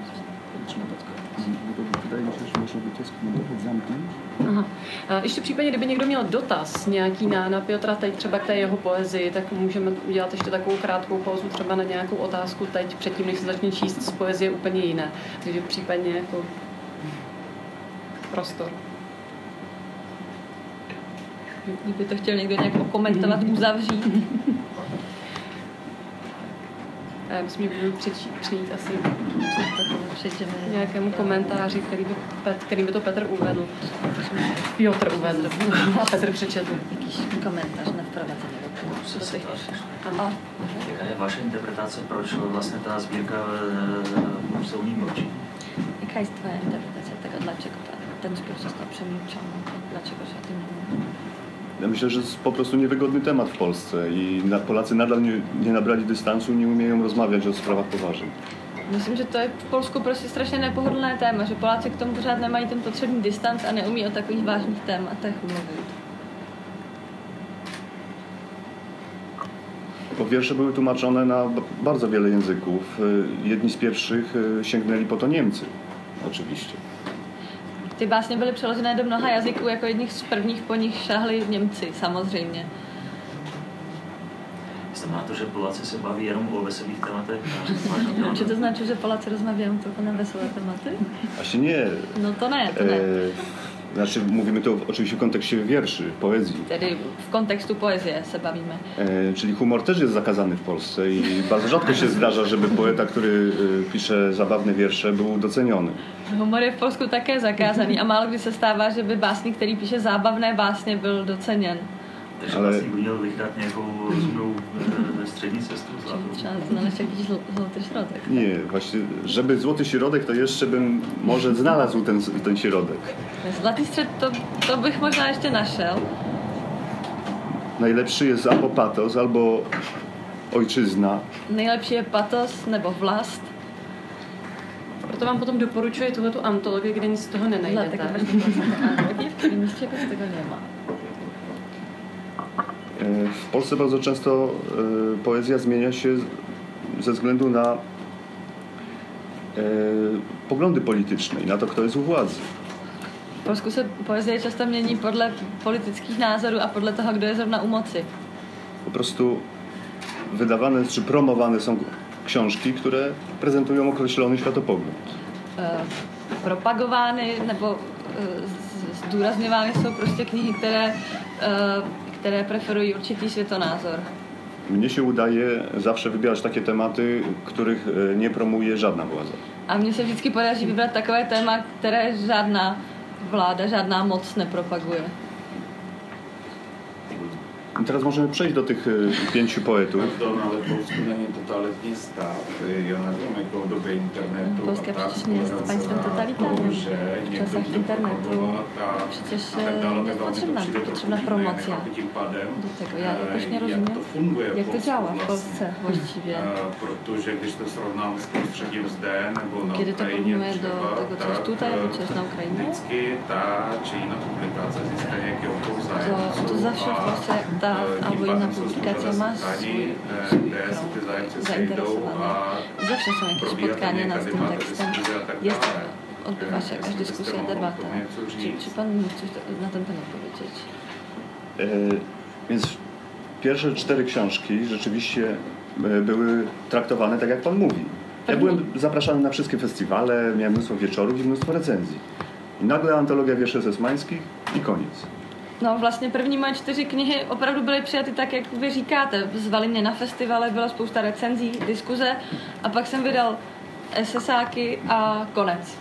Wydaje mi się, że może by to skomentować, zamknąć. Aha. Ještě v případě, kdyby někdo měl dotaz nějaký na Piotra teď třeba k té jeho poezii, tak můžeme udělat ještě takovou krátkou pauzu třeba na nějakou otázku teď předtím, než se začne číst z poezie úplně jiné. Takže případně jako prostor. Kdyby to chtěl někdo nějak komentovat, uzavřít. A já myslím, že budu přijít asi nějakému komentáři, který by to Petr uvedl. Piotr uvedl a Petr přečetl. Jakýś komentář na wprowadzenie do tych Jaká je vaše interpretace, proč vlastně ta sbírka se umí mlčí? Jaka jest twoja interpretacja tego, dlaczego ten zbiór został przemilczony? Dlaczego się o tym nie mówi? Ja myślę, że to jest po prostu niewygodny temat w Polsce i Polacy nadal nie nabrali dystansu i nie umieją rozmawiać o sprawach poważnych. Myslím, že to je v Polsku prostě strašně nepohodlné téma, že Poláci k tomu pořád nemají ten potřebný distanc a neumí o takových vážných tématech mluvit. Bo wiersze były tłumaczone na bardzo wiele języków. Jedni z pierwszych sięgnęli po to Niemcy, oczywiście. Ty básně byly přeložené do mnoha jazyků, jako jedních z prvních po nich šáhli Němci, samozřejmě. Znamená to, že Poláci se baví jenom o veselých tématech? Czy to znaczy, że Polacy rozmawiają tylko na wesołe tematy? Właśnie nie. No to ne, to ne. Znaczy mówimy tu oczywiście w kontekście wierszy, poezji. Tedy w kontekstu poezie se bavíme. Czyli humor też jest zakazany w Polsce i bardzo rzadko się zdarza, żeby poeta, który pisze zabawne wiersze, był doceniony. Humor je v Polsku také zakázaný a málo kdy se stává, že by básník, který píše zábavné básně, byl doceněn. Takže vlastně měl vyhrát nějakou rozumnou střední cestu. Třeba znaleźć jakiś złoty środek. Nie, właśnie, żeby złoty środek, to jeszcze bym może znalazł ten środek. Zlatý střed, to bych možná ještě našel. Najlepszy jest albo patos, albo ojczyzna. Nejlepší je patos nebo vlast. Proto vám potom doporučuji tuhletu antologii, kde nic z toho nenajdete. Antologie, v které nic z tego nie ma. W Polsce bardzo często poezja zmienia się ze względu na poglądy polityczne i na to, kto jest u władzy. V Polsku se poezie často mění podle politických názorů a podle toho, kdo je zrovna u moci. Po prostu wydawane czy promowane są książki, które prezentują określony światopogląd. Propagovány nebo zdůrazňovány jsou prostě knihy, které preferují určitý světonázor. Mnie się udaje zawsze wybierać takie tematy, których nie promuje żadna władza. A mně se vždycky podaří vybrat takové téma, které žádná vláda, žádná moc nepropaguje. I teraz możemy przejść do tych 5 poetów. Ale Polsku není totalitní stát. Já nevím, jako v době internetu. Polska przecież nie jest państwem totalitarnym. W czasach internetu przecież jest potrzebna promocja do tego. Ja jakoś nie rozumiem, jak to działa w Polsce właściwie. Protože když to srovnám s prostředím zde nebo na Kiedy to porównuje do tego, co jest tutaj, albo co jest na Ukrainie, vždycky ta či jiná publikace získá nějaký obchod zájemců. to zawsze w Polsce ta albo inna publikacja ma swój krąg zainteresowanych. Zawsze są jakieś spotkania nad tym tekstem. Odbywa się jakaś dyskusja, debata. Czy pan mógł coś na ten temat powiedzieć? Więc pierwsze 4 książki rzeczywiście były traktowane tak, jak pan mówi. Ja byłem zapraszany na wszystkie festiwale, miałem mnóstwo wieczorów i mnóstwo recenzji. I nagle antologia wierszy sesmańskich i koniec. No vlastně první moje 4 knihy opravdu byly přijaty tak, jak vy říkáte. Zvali mě na festivale, byla spousta recenzí, diskuze a pak jsem vydal esesáky a konec.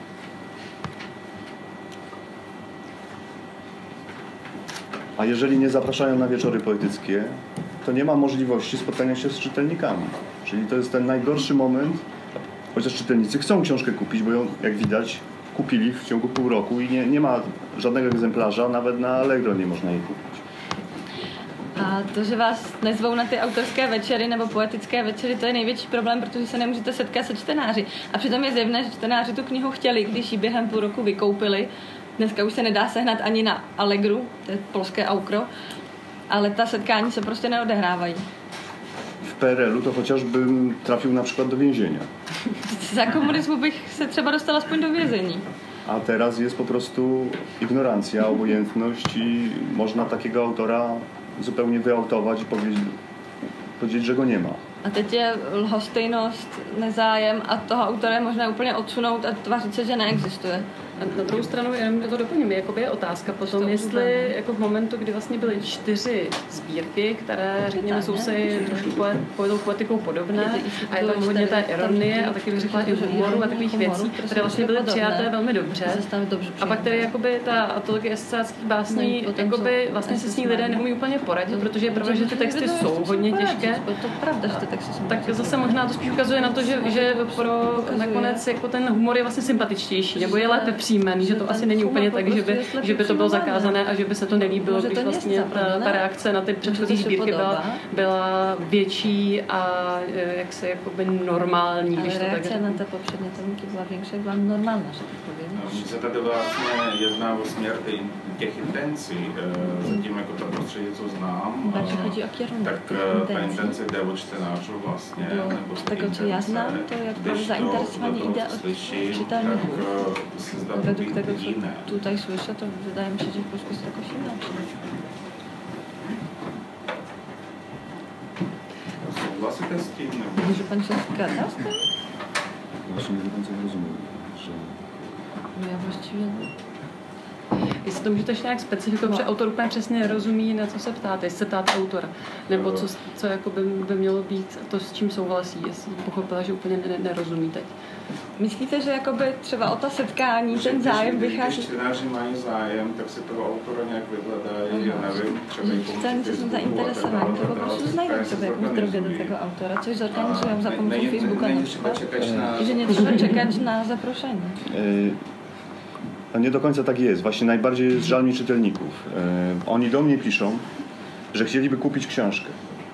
A jeżeli nie zapraszają na wieczory poetyckie, to nie ma możliwości spotkania się z czytelnikami. Czyli to jest ten najgorszy moment, chociaż czytelnicy chcą książkę kupić, bo ją, jak widać, kupili w ciągu pół roku i nie ma żadnego egzemplarza, nawet na Allegro nie można jej kupić. A to, že vás nezvou na ty autorské večery nebo poetické večery, to je největší problém, protože se nemůžete setkat se čtenáři. A přitom je zjevné, že čtenáři tu knihu chtěli, když ji během půl roku vykoupili. Dneska už se nedá sehnat ani na Allegru, to je polské aukro, ale ta setkání se prostě neodehrávají. W PRL-u to chociażbym trafił na przykład do więzienia. Za komunismu bych se třeba dostal aspoň do vězení. A teraz jest po prostu ignorancja, obojętność i można takiego autora zupełnie wyautować i powiedzieć, że go nie ma. A teď je lhostejnost, nezájem a toho autora je možná úplně odsunout a tvářit se, že neexistuje. Na druhou stranu, jenom to doplním, jakoby je otázka potom, jestli jako v momentu, kdy vlastně byly 4 sbírky, které, řekněme, jsou si trošku poetikou podobné a je tam hodně té ironie a taky bych řekla i humoru a takových věcí, které vlastně byly přijaté velmi dobře. A pak tedy jakoby ta antologie esesáckých básní, jakoby vlastně se s ní lidé neumí úplně poradit, protože je pravda, že ty texty jsou hodně těžké. To je pravda, že ty texty jsou. Tak zase možná to spíš ukazuje na to, že pro nakonec jako ten humor je vlastně sympatičtější, nebo je lépe přijímaný, že to asi není úplně tak, že by to bylo zakázané a že by se to nelíbilo, když vlastně ta reakce na ty předchozí sbírky byla větší a jak se jakoby normální, když to tak reakce na té popřední tomky byla větší, byla normální, že tak povím. Mně se tady vlastně jedná o směr těch intencí, zatím jako to prostředí, co znám, tak ta intence jde od čtenářů vlastně, nebo z tego, co já znám, to jak zainteresování jde od čitelníků. Według tego, co tutaj słyszę, to wydaje mi się, że w Polsku jest jakoś inaczej. Souhlasíte s tím? Nebo? Že pan se zgadza z tym? Właśnie nie do końca rozumiem, że... No já właściwie... Jestli to můžete ještě nějak specifikovat, protože autor úplně přesně nerozumí, na co se ptáte, jestli se ptáte autora, nebo co jako by mělo být to, s čím souhlasí, jestli pochopila, že úplně nerozumí teď. Myslíte, že jakoby třeba o ta setkání, ten zájem vychází? Když čtenáři mají zájem, tak si toho autora nějak vyhledají, já nevím, třeba i pomocí Čtenáři jsou zainteresovaní, to po prostu znají třeba jakąś drogę do tego autora, coś zorganizują za pomocą Facebooka na przykład, i że nie trzeba czekać na zaproszenie. A nie do końca tak jest. Właśnie najbardziej jest żal mi czytelników. Oni do mnie piszą, że chcieliby kupić książkę.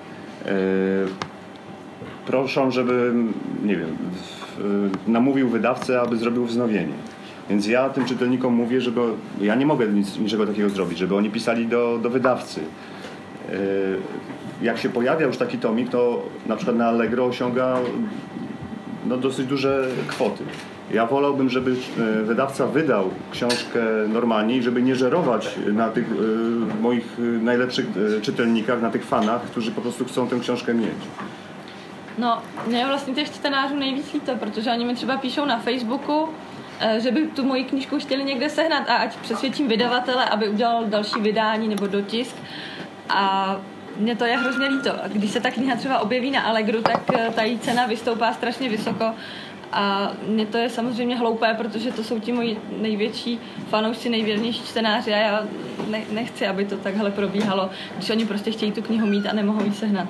Proszą, żebym, nie wiem, namówił wydawcę, aby zrobił wznowienie. Więc ja tym czytelnikom mówię, żeby ja nie mogę niczego takiego zrobić, żeby oni pisali do wydawcy. Jak się pojawia już taki tomik, to na przykład na Allegro osiąga dosyć duże kwoty. Ja wolałbym, żeby wydawca wydał książkę normalnie i żeby nie żerować na tych moich najlepszych czytelnikach, na tych fanach, którzy po prostu chcą tę książkę mieć. No, mě je vlastně těch čtenářů nejvíc líto, protože oni mi třeba píšou na Facebooku, že by tu moji knížku chtěli někde sehnat a ať přesvědčím vydavatele, aby udělal další vydání nebo dotisk. A mně to je hrozně líto. A když se ta kniha třeba objeví na Allegru, tak ta její cena vystoupá strašně vysoko. A mně to je samozřejmě hloupé, protože to jsou ti moji největší fanoušci, nejvěrnější čtenáři a já nechci, aby to takhle probíhalo, když oni prostě chtějí tu knihu mít a nemohou ji sehnat.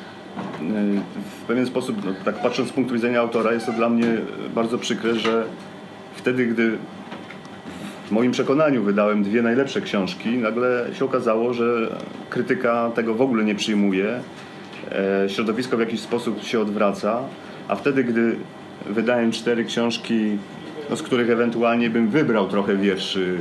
W pewien sposób, no, tak patrząc z punktu widzenia autora, jest to dla mnie bardzo przykre, że wtedy, gdy w moim przekonaniu wydałem 2 najlepsze książki, nagle się okazało, że krytyka tego w ogóle nie przyjmuje, środowisko w jakiś sposób się odwraca, a wtedy, gdy wydałem 4 książki, no, z których ewentualnie bym wybrał trochę wierszy,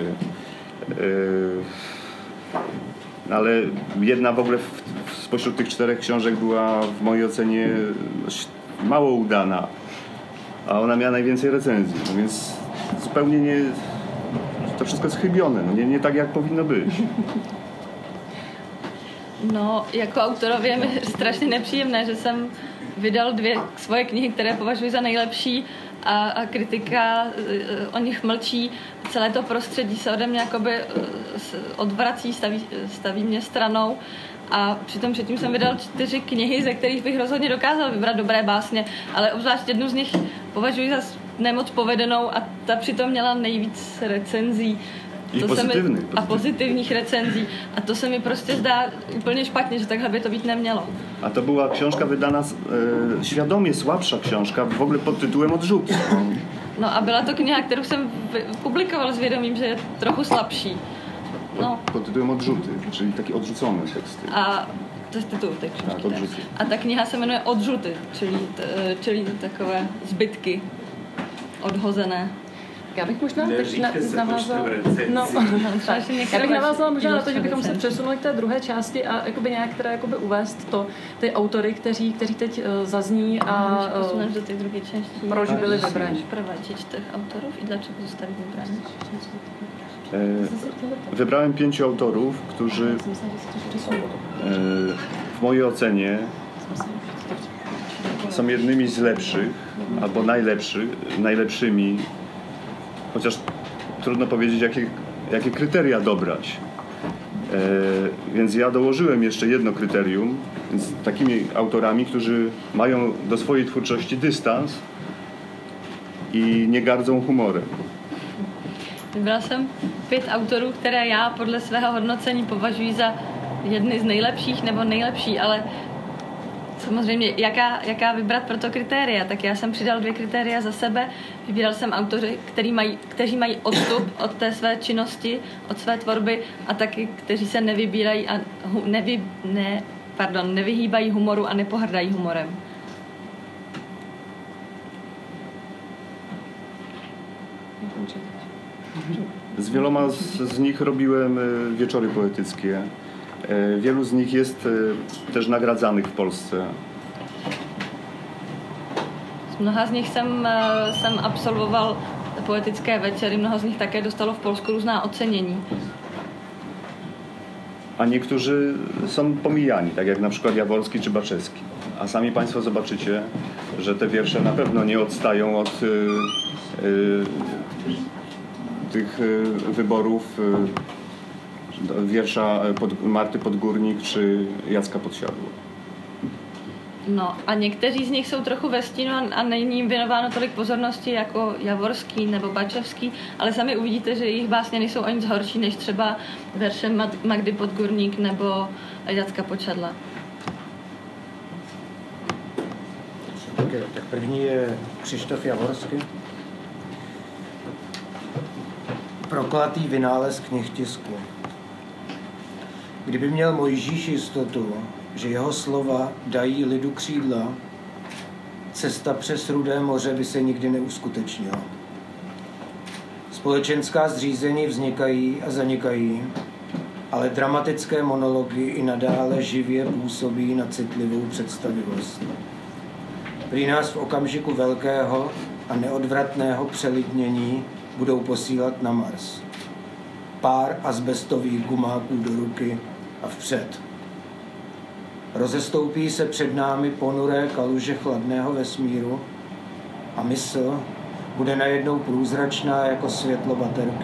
ale jedna w ogóle spośród tych 4 książek była w mojej ocenie mało udana, a ona miała najwięcej recenzji, no więc zupełnie nie, to wszystko jest chybione, no nie tak jak powinno być. No, jako autorově je mi strašně nepříjemné, že jsem vydal 2 svoje knihy, které považuji za nejlepší a kritika o nich mlčí. Celé to prostředí se ode mě jakoby odvrací, staví mě stranou. A přitom předtím jsem vydal 4 knihy, ze kterých bych rozhodně dokázal vybrat dobré básně, ale obzvlášť jednu z nich považuji za nemoc povedenou a ta přitom měla nejvíc recenzí. A pozitivních recenzí. A to se mi prostě zdá úplně špatně, že takhle by to být nemělo. A to była książka wydana, świadomie słabsza książka, w ogóle pod tytułem Odrzuty. No a byla to kniha, kterou jsem publikoval s vědomím, že je trochu slabší. No. Pod tytułem Odrzuty, czyli takie odrzucone teksty. A to je titul té knižky. A ta kniha se jmenuje Odrzuty, čili takové zbytky odhozené. Já bych možná teď navázala možná na to, že bychom se přesunuli k té druhé části a jakoby nějak teda jakoby uvést ty autory, kteří teď zazní a do té druhé části. Proč byli vybraní? Prowadzić tych autorów i dlaczego zostali wybrani? Wybrałem 5 autorów, którzy w mojej ocenie są jednymi z lepszych albo najlepszymi, chociaż trudno powiedzieć, jakie kryteria dobrać. Więc ja dołożyłem jeszcze jedno kryterium, z takimi autorami, którzy mają do swojej twórczości dystans i nie gardzą humorem. Vybral jsem 5 autorů, které já podle svého hodnocení považuji za jedny z nejlepších nebo nejlepší, ale samozřejmě jaká vybrat pro to kritéria, tak já jsem přidal 2 kritéria za sebe. Vybíral jsem autory, kteří mají odstup od té své činnosti, od své tvorby a taky, kteří se nevybírají a nevyhýbají humoru a nepohrdají humorem. Z wieloma z nich robiłem wieczory poetyckie. Wielu z nich jest też nagradzanych w Polsce. Z mnoha z nich jsem absolvoval poetické večery, mnoho z nich také dostalo w Polsku různá ocenění. A niektórzy są pomijani, tak jak na przykład Jaworski czy Baczewski. A sami Państwo zobaczycie, że te wiersze na pewno nie odstają od tych wyborów wiersza Marty Podgórnik czy Jacka Podsiadło. No a někteří z nich jsou trochu ve stínu a není jim věnováno tolik pozornosti jako Javorský nebo Bačevský, ale sami uvidíte, že jejich básně nejsou o nic horší než třeba verše Magdy Podgórnik nebo Jacka Podsiadla. Tak první je Křištof Javorský. Prokletý vynález knihtisku. Kdyby měl Mojžíš jistotu, že jeho slova dají lidu křídla, cesta přes Rudé moře by se nikdy neuskutečnila. Společenská zřízení vznikají a zanikají, ale dramatické monology i nadále živě působí na citlivou představivost. Prý nás v okamžiku velkého a neodvratného přelidnění budou posílat na Mars. Pár azbestových gumáků do ruky a vpřed. Rozestoupí se před námi ponuré kaluže chladného vesmíru a mysl bude najednou průzračná jako světlo baterky.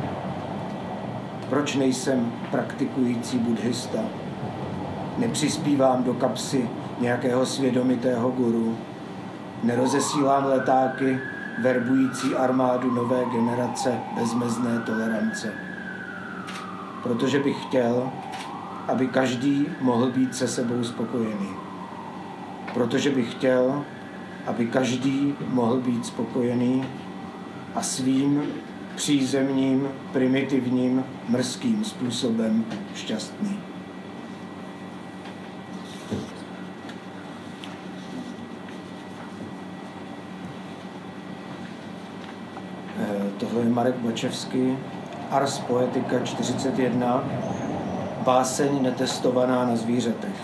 Proč nejsem praktikující buddhista? Nepřispívám do kapsy nějakého svědomitého guru. Nerozesílám letáky verbující armádu nové generace bezmezné tolerance. Protože bych chtěl, aby každý mohl být se sebou spokojený. Protože bych chtěl, aby každý mohl být spokojený a svým přízemním, primitivním, mrzkým způsobem šťastný. Tohle je Marek Bačevský, Ars Poetica 41, báseň netestovaná na zvířatech.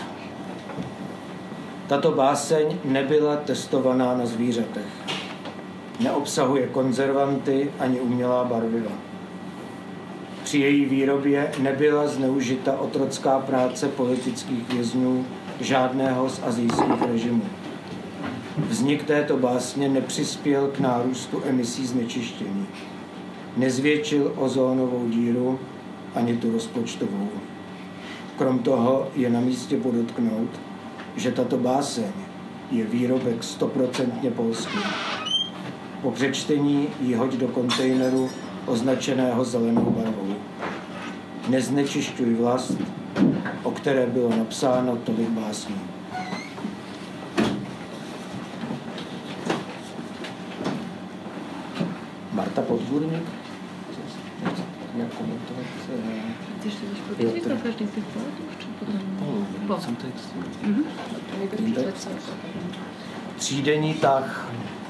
Tato báseň nebyla testovaná na zvířatech. Neobsahuje konzervanty ani umělá barviva. při její výrobě nebyla zneužita otrocká práce politických vězňů žádného z asijských režimů. Vznik této básně nepřispěl k nárůstu emisí znečištění. Nezvětšil ozónovou díru ani tu rozpočtovou. Krom toho je na místě podotknout, že tato báseň je výrobek 100% polský. Po přečtení ji hoď do kontejneru označeného zelenou barvou. Neznečišťuj vlast, o které bylo napsáno tolik básní. Marta Podgůrník? Jak komentovat? Ty ještě jdeš pro každý těch poletů? Jsem text. Třídenní tah.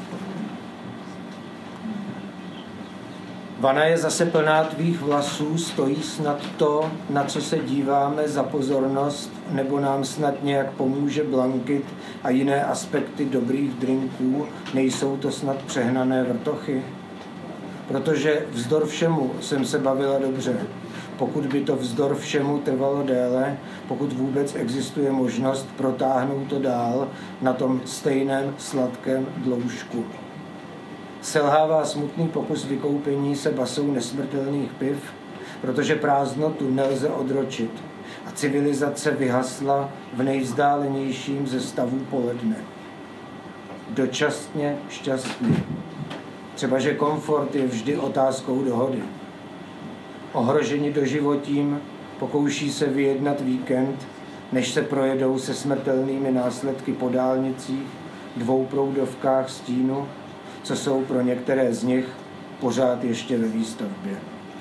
Vana je zase plná tvých vlasů, stojí snad to, na co se díváme za pozornost, nebo nám snad nějak pomůže blankit a jiné aspekty dobrých drinků, nejsou to snad přehnané vrtochy? Protože vzdor všemu jsem se bavila dobře. Pokud by to vzdor všemu trvalo déle, pokud vůbec existuje možnost protáhnout to dál na tom stejném sladkém dloužku. Selhává smutný pokus vykoupení se basou nesmrtelných piv, protože prázdnotu nelze odročit a civilizace vyhasla v nejvzdálenějším ze stavů poledne. Dočasně šťastný. Třeba, že komfort je vždy otázkou dohody. Ohroženi doživotím pokouší se vyjednat víkend, než se projedou se smrtelnými následky po dálnicích, dvouproudovkách stínu, co jsou pro některé z nich pořád ještě ve výstavbě.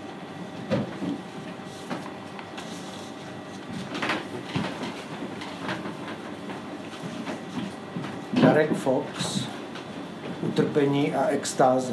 Darek Fox, Utrpení a extáze.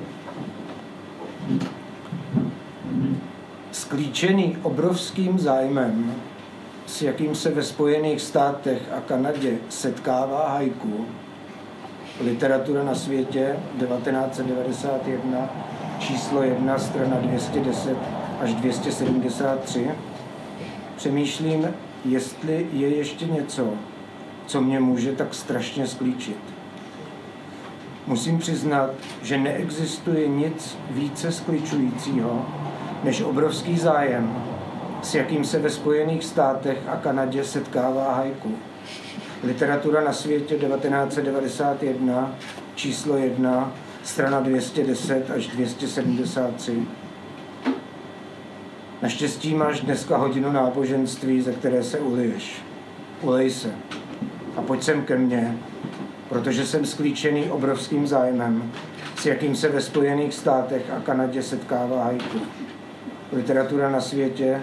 Sklíčený obrovským zájmem, s jakým se ve Spojených státech a Kanadě setkává haiku, Literatura na světě 1991, číslo 1, strana 210 až 273, přemýšlím, jestli je ještě něco, co mě může tak strašně sklíčit. Musím přiznat, že neexistuje nic více skličujícího, než obrovský zájem, s jakým se ve Spojených státech a Kanadě setkává haiku. Literatura na světě 1991, číslo 1, strana 210 až 273. Naštěstí máš dneska hodinu náboženství, ze které se uliješ. Ulej se. A pojď sem ke mně, protože jsem sklíčený obrovským zájmem, s jakým se ve Spojených státech a Kanadě setkává haiku. Literatura na světě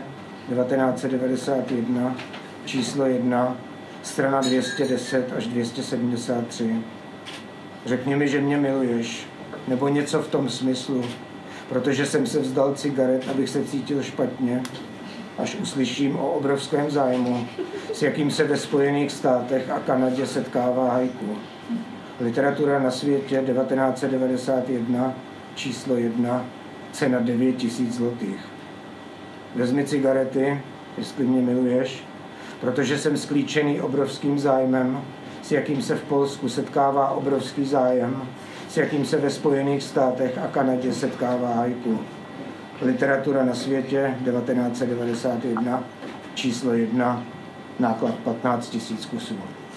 1991, číslo 1, strana 210 až 273. Řekni mi, že mě miluješ, nebo něco v tom smyslu, protože jsem se vzdal cigaret, abych se cítil špatně, až uslyším o obrovském zájmu, s jakým se ve Spojených státech a Kanadě setkává haiku. Literatura na světě 1991, číslo 1, cena 9 000 zlotých. Vezmi cigarety, jestli mě miluješ, protože jsem sklíčený obrovským zájmem, s jakým se v Polsku setkává obrovský zájem, s jakým se ve Spojených státech a Kanadě setkává haiku. Literatura na světě 1991, číslo 1, náklad 15 000 kusů.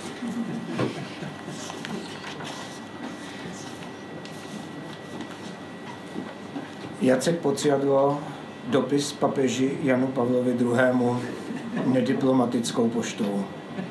Jacek Pociadlo, dopis papeži Janu Pavlovi II. Nediplomatickou poštou.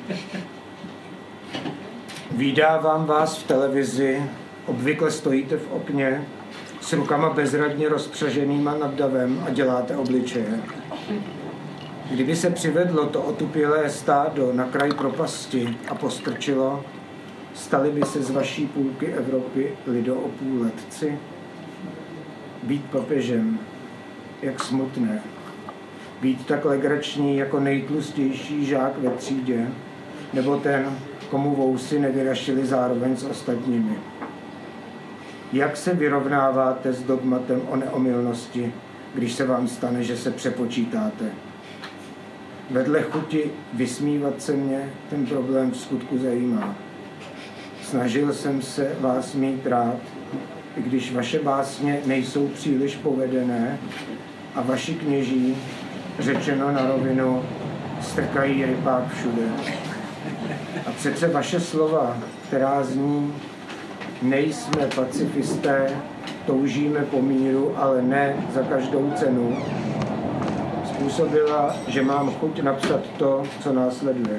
Vídávám vás v televizi, obvykle stojíte v okně, s rukama bezradně rozpřaženýma nad davem a děláte obličeje. Kdyby se přivedlo to otupělé stádo na kraj propasti a postrčilo, stali by se z vaší půlky Evropy lidoopůletci? Být papežem, jak smutné. Být tak legrační jako nejtlustější žák ve třídě, nebo ten, komu vousy nevyrašily zároveň s ostatními. Jak se vyrovnáváte s dogmatem o neomylnosti, když se vám stane, že se přepočítáte. Vedle chuti vysmívat se mě ten problém v skutku zajímá. Snažil jsem se vás mít rád, i když vaše básně nejsou příliš povedené a vaši kněží, řečeno na rovinu, strkají rypák všude. A přece vaše slova, která zní, nejsme pacifisté, toužíme po míru, ale ne za každou cenu, způsobila, že mám chuť napsat to, co následuje.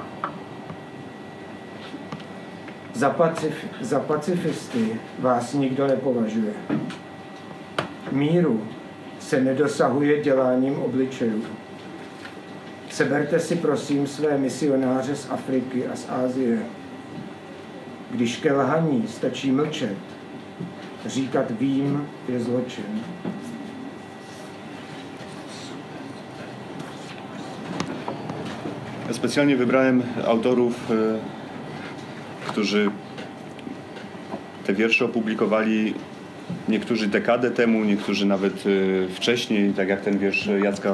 Za pacifisty vás nikdo nepovažuje. Míru se nedosahuje děláním obličejů. Seberte si prosím své misionáře z Afriky a z Asie. Když ke lhaní stačí mlčet, říkat vím je zločin. Specjalnie wybrałem autorów, którzy te wiersze opublikowali niektórzy dekadę temu, niektórzy nawet wcześniej, tak jak ten wiersz Jacka.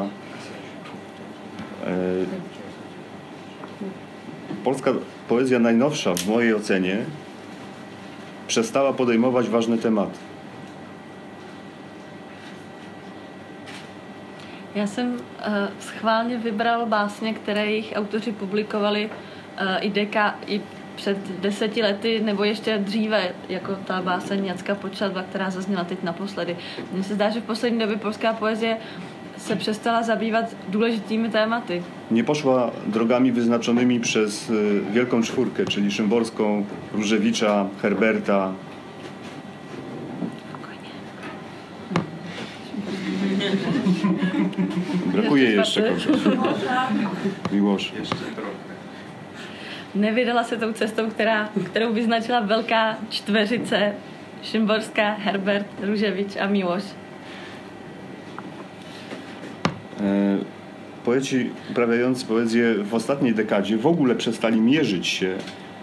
Polska poezja najnowsza, w mojej ocenie, przestała podejmować ważne tematy. Já jsem schválně vybral básně, které jejich autoři publikovali i před 10 lety, nebo ještě dříve, jako ta báseň Jacka Počatba, která zazněla teď naposledy. Mně se zdá, že v poslední době polská poezie se přestala zabývat důležitými tématy. Nie poszła drogami wyznaczonymi przez Wielką Czwórkę, czyli Szymborską, Różewicza, Herberta. Brakuje jeszcze kogoś. Miłosz. Nevydala se tou cestou, kterou vyznačila Velká čtveřice, Šimborská, Herbert, Różewicz a Miłosz. Poeci uprawiający poezję w ostatniej dekadzie w ogóle przestali mierzyć się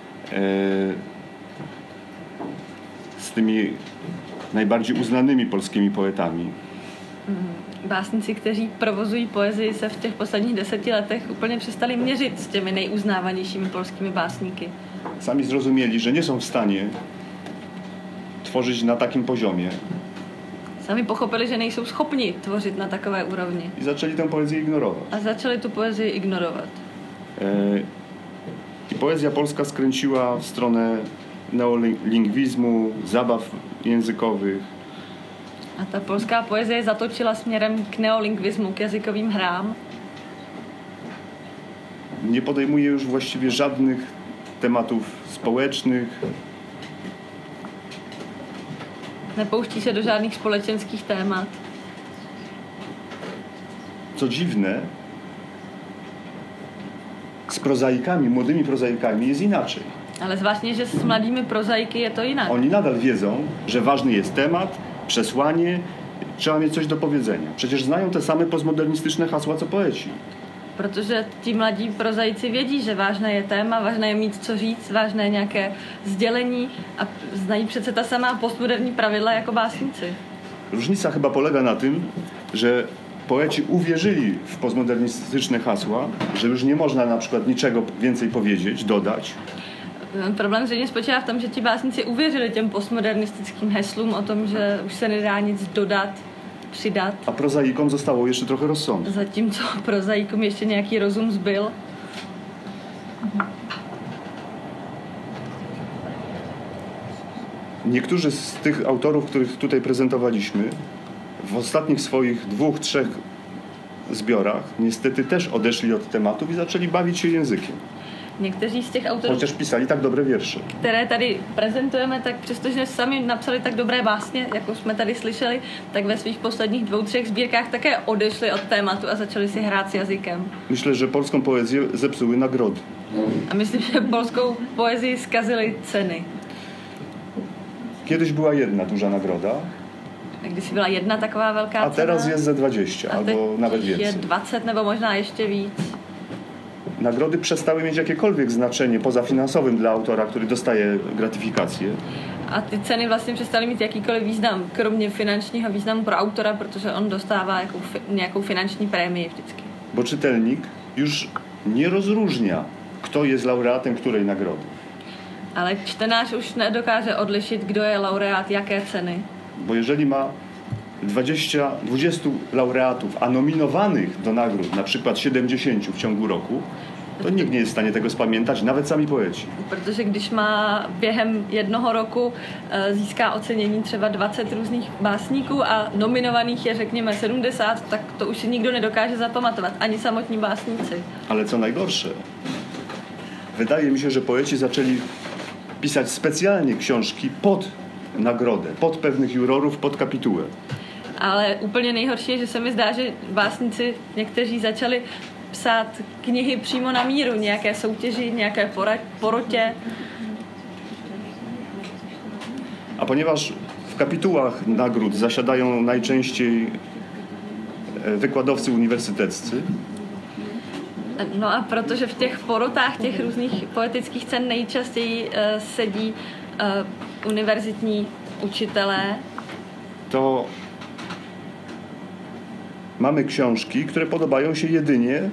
z tymi najbardziej uznanymi polskimi poetami. Básníci, kteří provozují poezii, se v těch posledních 10 letech úplně přestali měřit s těmi nejuznávanějšími polskými básníky. Sami zrozumieli, że nie są w stanie tworzyć na takim poziomie. Sami pochopili, že nejsou schopni tvořit na takové úrovni. I zaczęli tę poezję ignorować. A začali tu poezii ignorovat. I poezja polska skręciła w stronę neolingwizmu, zabaw językowych. A ta polská poezie zatočila směrem k neolingvismu, k jazykovým hrám. Nie podejmuje już właściwie żadnych tematów społecznych. Nepouští se do žádných společenských témat. Co dziwne, z prozaikami, młodymi prozaikami jest inaczej. Ale zvláštně, že s mladými prozaiky je to jinak. Oni nadal wiedzą, że ważny jest temat, przesłanie, trzeba mieć coś do powiedzenia. Przecież znają te same postmodernistyczne hasła, co poeci. Protože ti mladí prozaici vědí, že vážné je téma, vážné je mít co říct, vážné je nějaké sdělení a znají přece ta samá postmoderní pravidla jako básníci. Różnica chyba polega na tym, że poeci uwierzyli w postmodernistyczne hasła, że już nie można na przykład niczego więcej powiedzieć, dodać. Problém zřejmě spočívá v tom, že ti básníci uvěřili těm postmodernistickým heslům o tom, že už se nedá nic dodat, přidat. A prozaikom zostało jeszcze trochę rozsądku. Zatímco prozaikům ještě nějaký rozum zbyl. Niektórzy z tych autorów, których tutaj prezentowaliśmy, w ostatnich swoich 2-3 zbiorach niestety też odeszli od tematów i zaczęli bawić się językiem. Někteří z těch autorů, chociaż pisali tak dobre wiersze, které tady prezentujeme, tak přestože sami napsali tak dobré básně, jako jsme tady slyšeli, tak ve svých posledních 2-3 sbírkách také odešli od tématu a začali si hrát s jazykem. Myślę, że polską poezję zepsuły nagrody. A myslím, že polskou poezii zkazily ceny. Kiedyś była jedna duża nagroda. Když byla jedna taková velká cena. A teraz jest ze 20, albo nawet więcej. Je 20 nebo možná ještě víc. nagrody przestały mieć jakiekolwiek znaczenie poza finansowym dla autora, który dostaje gratyfikację. A ty ceny vlastně přestaly mít jakýkoliv význam, kromě finančního významu pro autora, protože on dostává nějakou finanční prémii vždycky. Bo czytelnik już nie rozróżnia, kto jest laureatem której nagrody. Ale čtenář už nedokáže odlišit, kdo je laureát jaké ceny. Bo jeżeli ma 20 laureatów, a nominowanych do nagród, na przykład 70 w ciągu roku, to nikt nie jest w stanie tego spamiętać, nawet sami poeci. Protože když má během jednoho roku získá ocenění třeba 20 různých básníků a nominovaných je řekněme 70, tak to už si nikdo nedokáže zapamatovat, ani samotní básníci. Ale co najgorsze, wydaje mi się, że poeci zaczęli pisać specjalnie książki pod nagrodę, pod pewnych jurorów, pod kapitułę. Ale úplně nejhorší je, že se mi zdá, že básníci někteří začali psát knihy přímo na míru, nějaké soutěži, nějaké porotě. A ponieważ w kapitułach nagród zasiadają najczęściej wykładowcy uniwersyteccy. No a protože v těch porotách těch různých poetických cen nejčastěji sedí univerzitní učitelé, to mamy książki, które podobają się jedynie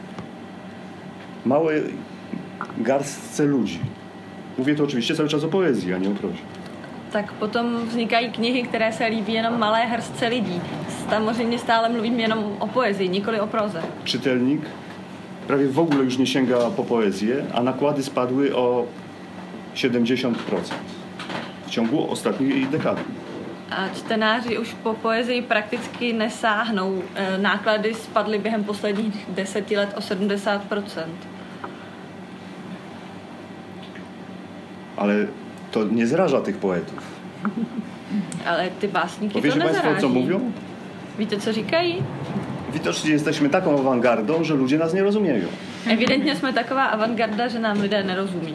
małej garstce ludzi. Mówię to oczywiście cały czas o poezji, a nie o prozie. Tak potom vznikají knihy, které se líbí jenom malé hrstce lidí. Samozřejmě stále mluvím jenom o poezji, nikoli o proze. Czytelnik prawie w ogóle już nie sięga po poezję, a nakłady spadły o 70% w ciągu ostatniej dekady. A čtenáři už po poezii prakticky nesáhnou. Náklady spadly během posledních 10 let o 70%. Ale to nie zraża tych poetów. Ale ty básníky to nezaráží. Państwo, co mówią? Víte, co říkají? Widocznie jesteśmy taką awangardą, że ludzie nas nie rozumieją. Evidentně jsme taková avantgarda, že nám lidé nerozumí.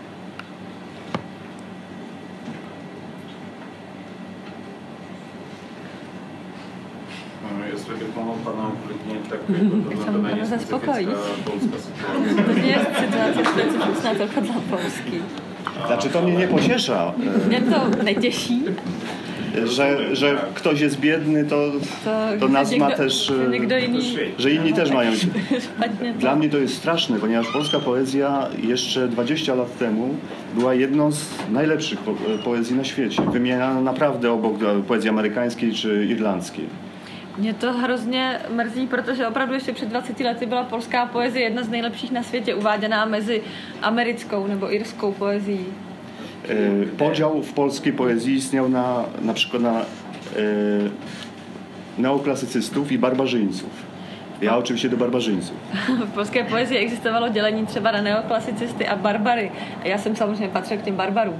Jestli bych mohl pana uklidnit, tak to není specifická polská situace. To nie jest sytuacja specyficzna tylko dla Polski. Znaczy to mnie nie pociesza. Mnie to netěší. Że ktoś jest biedny, to nas ma też, że inni też mają. Dla mnie to jest straszne, ponieważ polska poezja jeszcze 20 lat temu była jedną z najlepszych poezji na świecie. Wymieniana naprawdę obok poezji amerykańskiej czy irlandzkiej. Mě to hrozně mrzí, protože opravdu ještě před 20 lety byla polská poezie jedna z nejlepších na světě, uváděná mezi americkou nebo irskou poezí. Podział w polskiej poezji istniał na przykład na neoklasycystów i barbarzyńców. Ja oczywiście do barbarzyńców. V polské poezii existovalo dělení třeba na neoklasicisty a barbary. A já jsem samozřejmě patřil k těm barbarům.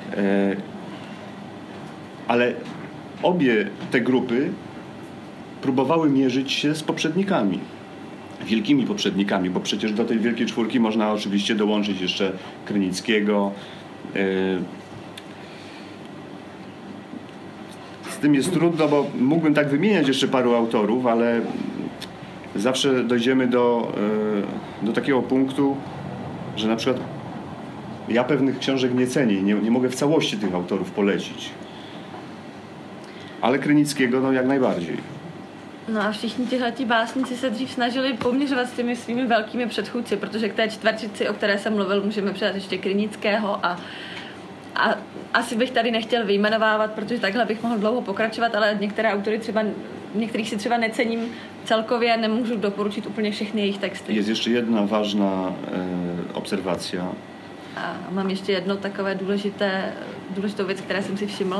Ale obie te grupy próbowały mierzyć się z poprzednikami. Wielkimi poprzednikami, bo przecież do tej wielkiej czwórki można oczywiście dołączyć jeszcze Krynickiego. Z tym jest trudno, bo mógłbym tak wymieniać jeszcze paru autorów, ale zawsze dojdziemy do takiego punktu, że na przykład ja pewnych książek nie cenię i nie mogę w całości tych autorów polecić. Ale Krynickiego jak najbardziej. No a všichni tihleti básníci se dřív snažili poměřovat s těmi svými velkými předchůdci, protože k té čtverčici, o které jsem mluvil, můžeme přidat ještě Krynického a asi bych tady nechtěl vyjmenovávat, protože takhle bych mohl dlouho pokračovat, ale některé autory některých si třeba necením celkově, nemůžu doporučit úplně všechny jejich texty. Jest jeszcze jedna ważna obserwacja. A mám ještě jedno takové důležitou věc, které jsem si všiml.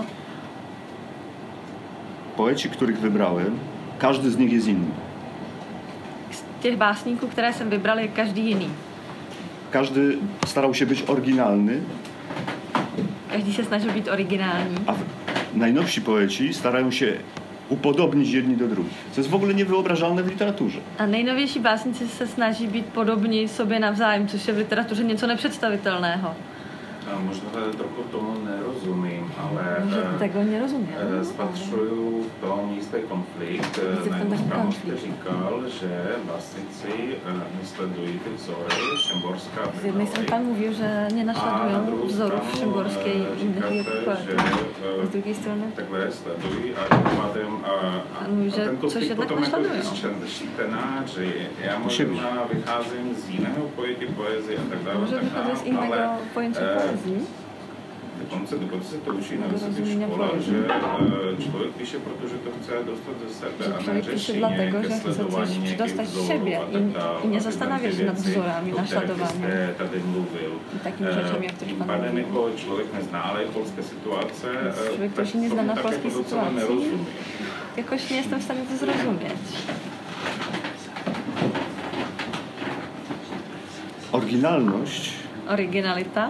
Poeci, których wybrałem, każdy z nich jest inny. Z těch básníků, které jsem vybral, je každý jiný. Każdy starał się być oryginalny. Každý se snažil být originální. A najnowsi poeci starają się upodobnić jedni do drugich. Co jest w ogóle niewyobrażalne w literaturze. A nejnovější básníci se snaží být podobní sobě navzájem, což je v literatuře něco nepředstavitelného. Možná trochu tomu nerozumím, ale tego nie rozumiem. spatřuju v tom jistý konflikt. Na jednu stranu jste říkal, že vlastníci nesledují ty vzory Šimborská. Z jednej strony pan mówił, że nie naśladują wzorów Szymborskiej i innych poetów. Z drugiej strony takhle sledují a tím pádem ten konflikt potom jako čtenáři. Já možná vycházím z jiného pojetí poezie a tak dále. Może wychodzę z innego pojęcia poezji. Dokonce se to učí na vysoké škole, že člověk píše, protože to chce dostat ze sebe a neřeší dlatego, že chce coś dostać z siebie i nie zastanawia się nad wzorami, naśladowaniem i takimi rzeczami, jak ktoś pan mówił. Jako člověk neználej polské situace, człowiek, który się nie zna na polskiej sytuacji, jakoś nie jestem w stanie to zrozumieć. Oryginalita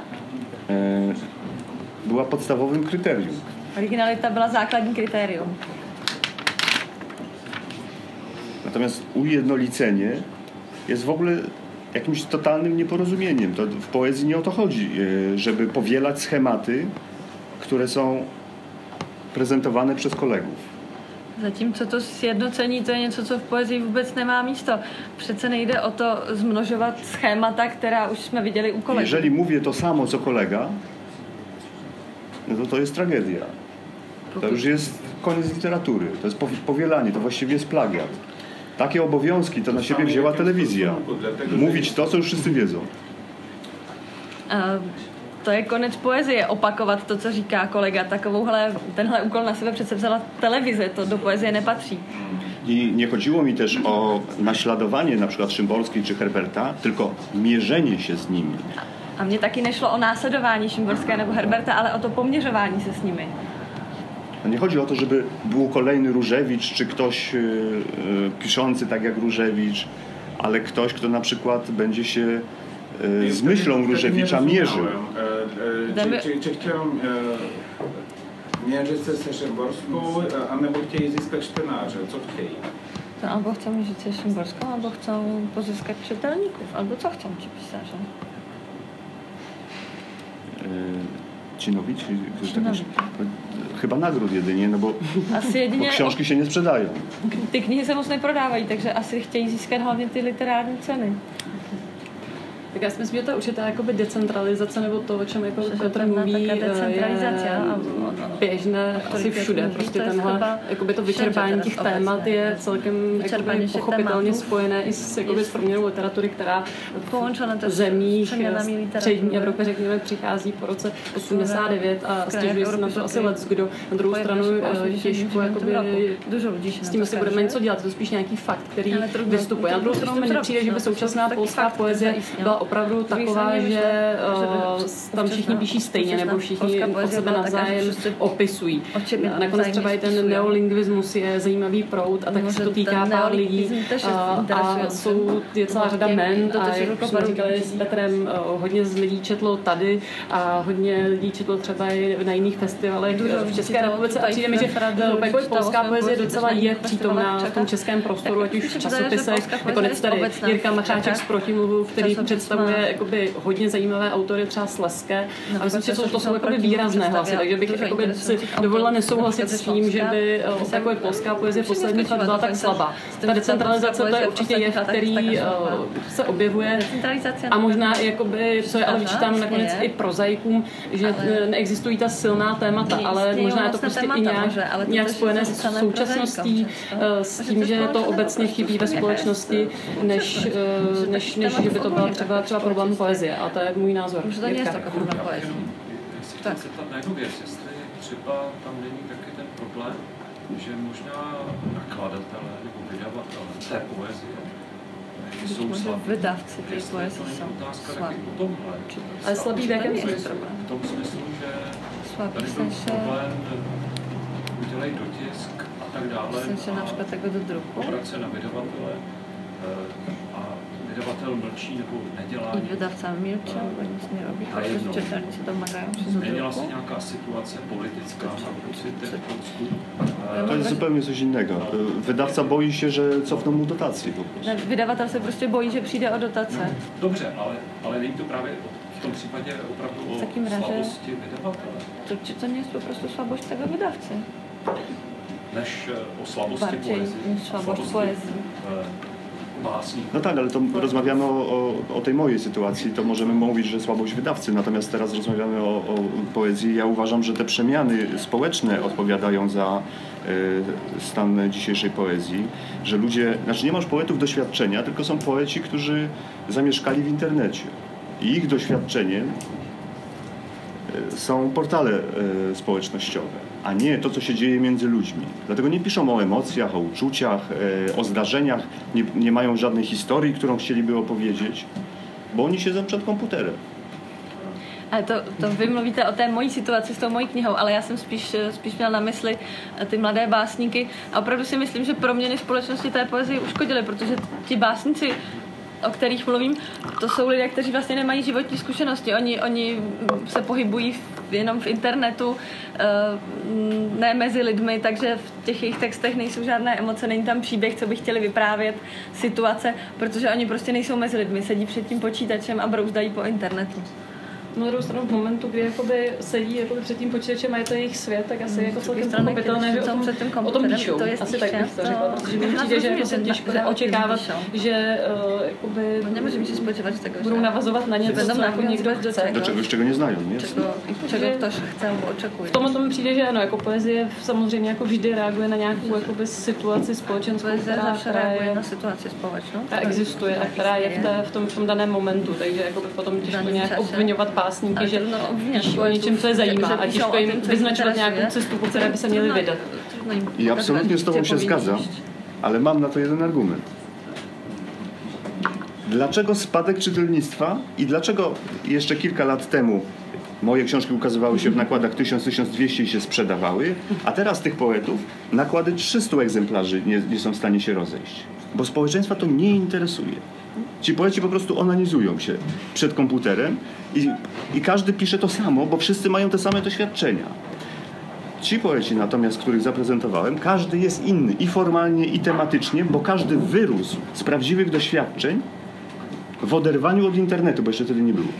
była podstawowym kryterium. Oryginalita była základní kryterium. Natomiast ujednolicenie jest w ogóle jakimś totalnym nieporozumieniem. To w poezji nie o to chodzi, żeby powielać schematy, które są prezentowane przez kolegów. Zatímco to sjednocení, to je něco, co v poezii vůbec nemá místo. Přece nejde o to zmnožovat schémata, která už jsme viděli u kolegů. Jeżeli mówię to samo, co kolega, no to jest tragedia. To już jest koniec literatury. To jest powielanie, to właściwie jest plagiat. Takie obowiązki to na siebie wzięła telewizja. Mówić to, co już wszyscy wiedzą. To je konec poezie, opakovat to, co říká kolega. Tenhle úkol na sebe přece vzala televize, to do poezie nepatří. I nie chodziło mi też o naśladowanie na przykład Szymborskiej czy Herberta, tylko mierzenie się z nimi. A mně taky nešlo o následování Šimborské nebo Herberta, ale o to poměřování se s nimi. Nie chodzi o to, żeby był kolejny Różewicz, czy ktoś piszący tak jak Różewicz, ale ktoś, kto na przykład będzie się z myślą Różewicza mierzył. Czy chciałem mierzyć się ze Szymborską, anebo chtějí získat čtenáře? Co chtějí? To albo chcą mierzyć się z Szymborską, albo chcą pozyskać czytelników, albo co chcą ci pisarze? Ci nowi? Chyba nagród jedynie, no bo książki się nie sprzedają. Ty knihy se moc neprodávají, takže asi chtějí získat hlavně ty literární ceny. Tak já si myslím, že to je určitá jakoby decentralizace, nebo to, o čem jako Petr mluví, je běžné asi všude. Prostě tenhle, jakoby to vyčerpání těch témat je celkem jakoby pochopitelně spojené i s, jakoby, s proměnou literatury, která v zemích střední Evropy, řekněme, přichází po roce 89 a stěžuje se na to asi leckdo. Na druhou stranu těžko jakoby, s tím si budeme něco dělat, to je spíš nějaký fakt, který vystupuje. Na druhou stranu mi nepřijde, že by současná polská poezie byla opravdu taková, že tam všichni píší stejně, nebo všichni od sebe navzájem opisují. A nakonec třeba i ten neolingvismus je zajímavý proud a tak se to týká pár lidí a je celá řada men a jak jsme říkali s Petrem, hodně z lidí četlo tady a hodně lidí četlo třeba i na jiných festivalech v České republice a přijde mi, že polská poezie docela je přítomná v tom českém prostoru, ať už v časopisech, nakonec tady Jirka Macháček z Protimluvu, který představuje jakoby hodně zajímavé autory, třeba Slezské. A myslím, že to jsou jakoby výrazné hlasy, takže bych jakoby si dovolila nesouhlasit s tím, že by takové polská poezie posledních let byla tak slabá. Ta decentralizace to je určitě jev, který se objevuje a možná jakoby, co je ale vyčítám nakonec i prozaikům, že neexistují ta silná témata, ale možná je to prostě i nějak spojené s současností, s tím, že to obecně chybí ve společnosti, než že by to byla třeba problém poezie, a to je můj názor. Už to nie jest taka problém poezie. Tak. Se tam na jednu věc, jestli třeba tam není taky ten problém, že možná nakladatelé nebo vydavatelé té poezie jsou slabí. Vydavci té poezie jsou slabí. Ale slabí v jakém smyslu? V tom smyslu, že tady byl problém, udělej dotisk a tak dále. Myslím, například jako do druku. Obrace na vydavatele a vydavatel mlčí nebo nedělá. I vydavca milčí, nic nerobí, protože četárnici domagají přes změnila se nějaká situace politická na pocitech v Polsku? To jest zupełnie coś innego. Wydawca boi się, że cofną mu dotacje. Vydavatel se prostě bojí, že přijde o dotace. Dobře, ale není to právě v tom případě opravdu o slabosti vydavatele. To nie jest po prostu słabość tego wydawcy. Než o slabosti Bardziej poezji. niż słabość poezji. Básníků. No tak, ale to rozmawiamy o tej mojej sytuacji, to możemy mówić, że słabość wydawcy, natomiast teraz rozmawiamy o poezji. Ja uważam, że te przemiany społeczne odpowiadają za stan dzisiejszej poezji, że ludzie, znaczy nie masz poetów doświadczenia, tylko są poeci, którzy zamieszkali w internecie i ich doświadczeniem są portale społecznościowe, a nie to, co się dzieje między ludźmi. Dlatego nie piszą o emocjach, o uczuciach, o zdarzeniach, nie mają żadnej historii, którą chcieliby opowiedzieć, bo oni siedzą przed komputerem. Ale to vy mluvíte o té mojí situaci s tou mojí knihou, ale já jsem spíš měla na mysli ty mladé básníky a opravdu si myslím, že proměny společnosti té poezie uškodily, protože ti básníci, o kterých mluvím, to jsou lidé, kteří vlastně nemají životní zkušenosti. Oni se pohybují jenom v internetu, ne mezi lidmi, takže v těch jejich textech nejsou žádné emoce, není tam příběh, co by chtěli vyprávět, situace, protože oni prostě nejsou mezi lidmi, sedí před tím počítačem a brouzdají po internetu. Na druhou stranu v momentu, kdy jakoby sedí jakoby před tím počítačem a je to jejich svět, tak asi jako celkem pochopitelné, že o tom píšou. Asi tak bych to řekla, protože mi přijde, že jako se těžko dá očekávat, že jakoby budou navazovat na něco, co jako někdo chce. Do czegoś, czego nie znają, nie? Čego ktoś chce nebo očekuje. V tomhle mi přijde, že ano, jako poezie samozřejmě jako vždy reaguje na nějakou jakoby situaci společenskou, která reaguje na situaci společnou. Ta existuje a která je v tom daném momentu, takže jakoby potom těžko nějak obvinovat pásníky, že píší o něčem, co je zajímá a těžko jim vyznačovat nějakou cestu, po které by se měli vydat. I absolutnie z tobą się zgadzam, ale mam na to jeden argument. Dlaczego spadek czytelnictwa i dlaczego jeszcze kilka lat temu moje książki ukazywały się w nakładach 1000-1200 i się sprzedawały, a teraz tych poetów nakłady 300 egzemplarzy nie są w stanie się rozejść? Bo społeczeństwa to nie interesuje. Ci poeci po prostu onanizują się przed komputerem i każdy pisze to samo, bo wszyscy mają te same doświadczenia. Ci poeci natomiast, których zaprezentowałem, każdy jest inny i formalnie, i tematycznie, bo każdy wyrósł z prawdziwych doświadczeń w oderwaniu od internetu, bo jeszcze wtedy nie było.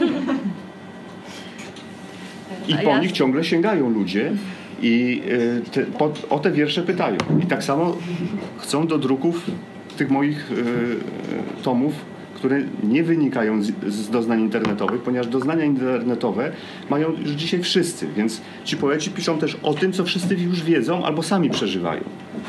I po nich ciągle sięgają ludzie i o te wiersze pytają. I tak samo chcą do druków tych moich tomów, które nie wynikają z doznań internetowych, ponieważ doznania internetowe mają już dzisiaj wszyscy, więc ci poeci piszą też o tym, co wszyscy już wiedzą albo sami przeżywają.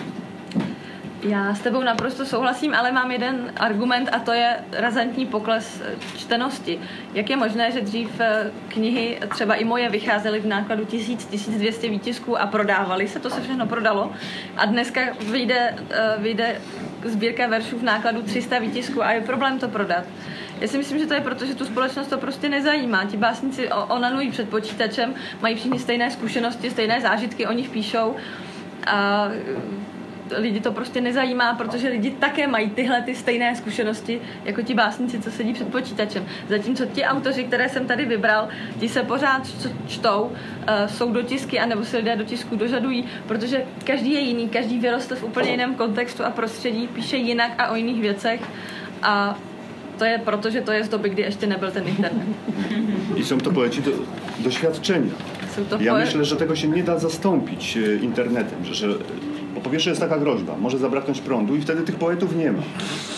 Já s tebou naprosto souhlasím, ale mám jeden argument a to je razantní pokles čtenosti. Jak je možné, že dřív knihy, třeba i moje, vycházely v nákladu 1000-1200 výtisků a prodávaly se, to se všechno prodalo a dneska vyjde sbírka veršů v nákladu 300 výtisků a je problém to prodat. Já si myslím, že to je proto, že tu společnost to prostě nezajímá. Ti básníci onanují před počítačem, mají všichni stejné zkušenosti, stejné zážitky, o nich píšou a lidi to prostě nezajímá, protože lidi také mají tyhle ty stejné zkušenosti jako ti básníci, co sedí před počítačem. Zatímco ti autoři, které jsem tady vybral, ti se pořád čtou, jsou dotisky, anebo se lidé do tisku dožadují, protože každý je jiný, každý vyrostl v úplně jiném kontextu a prostředí, píše jinak a o jiných věcech a to je proto, že to je z doby, kdy ještě nebyl ten internet. I są to poeci doświadczenia. Ja myślę, że tego się nie da zastąpić internetem, że bo po pierwsze jest taka groźba, może zabraknąć prądu i wtedy tych poetów nie ma.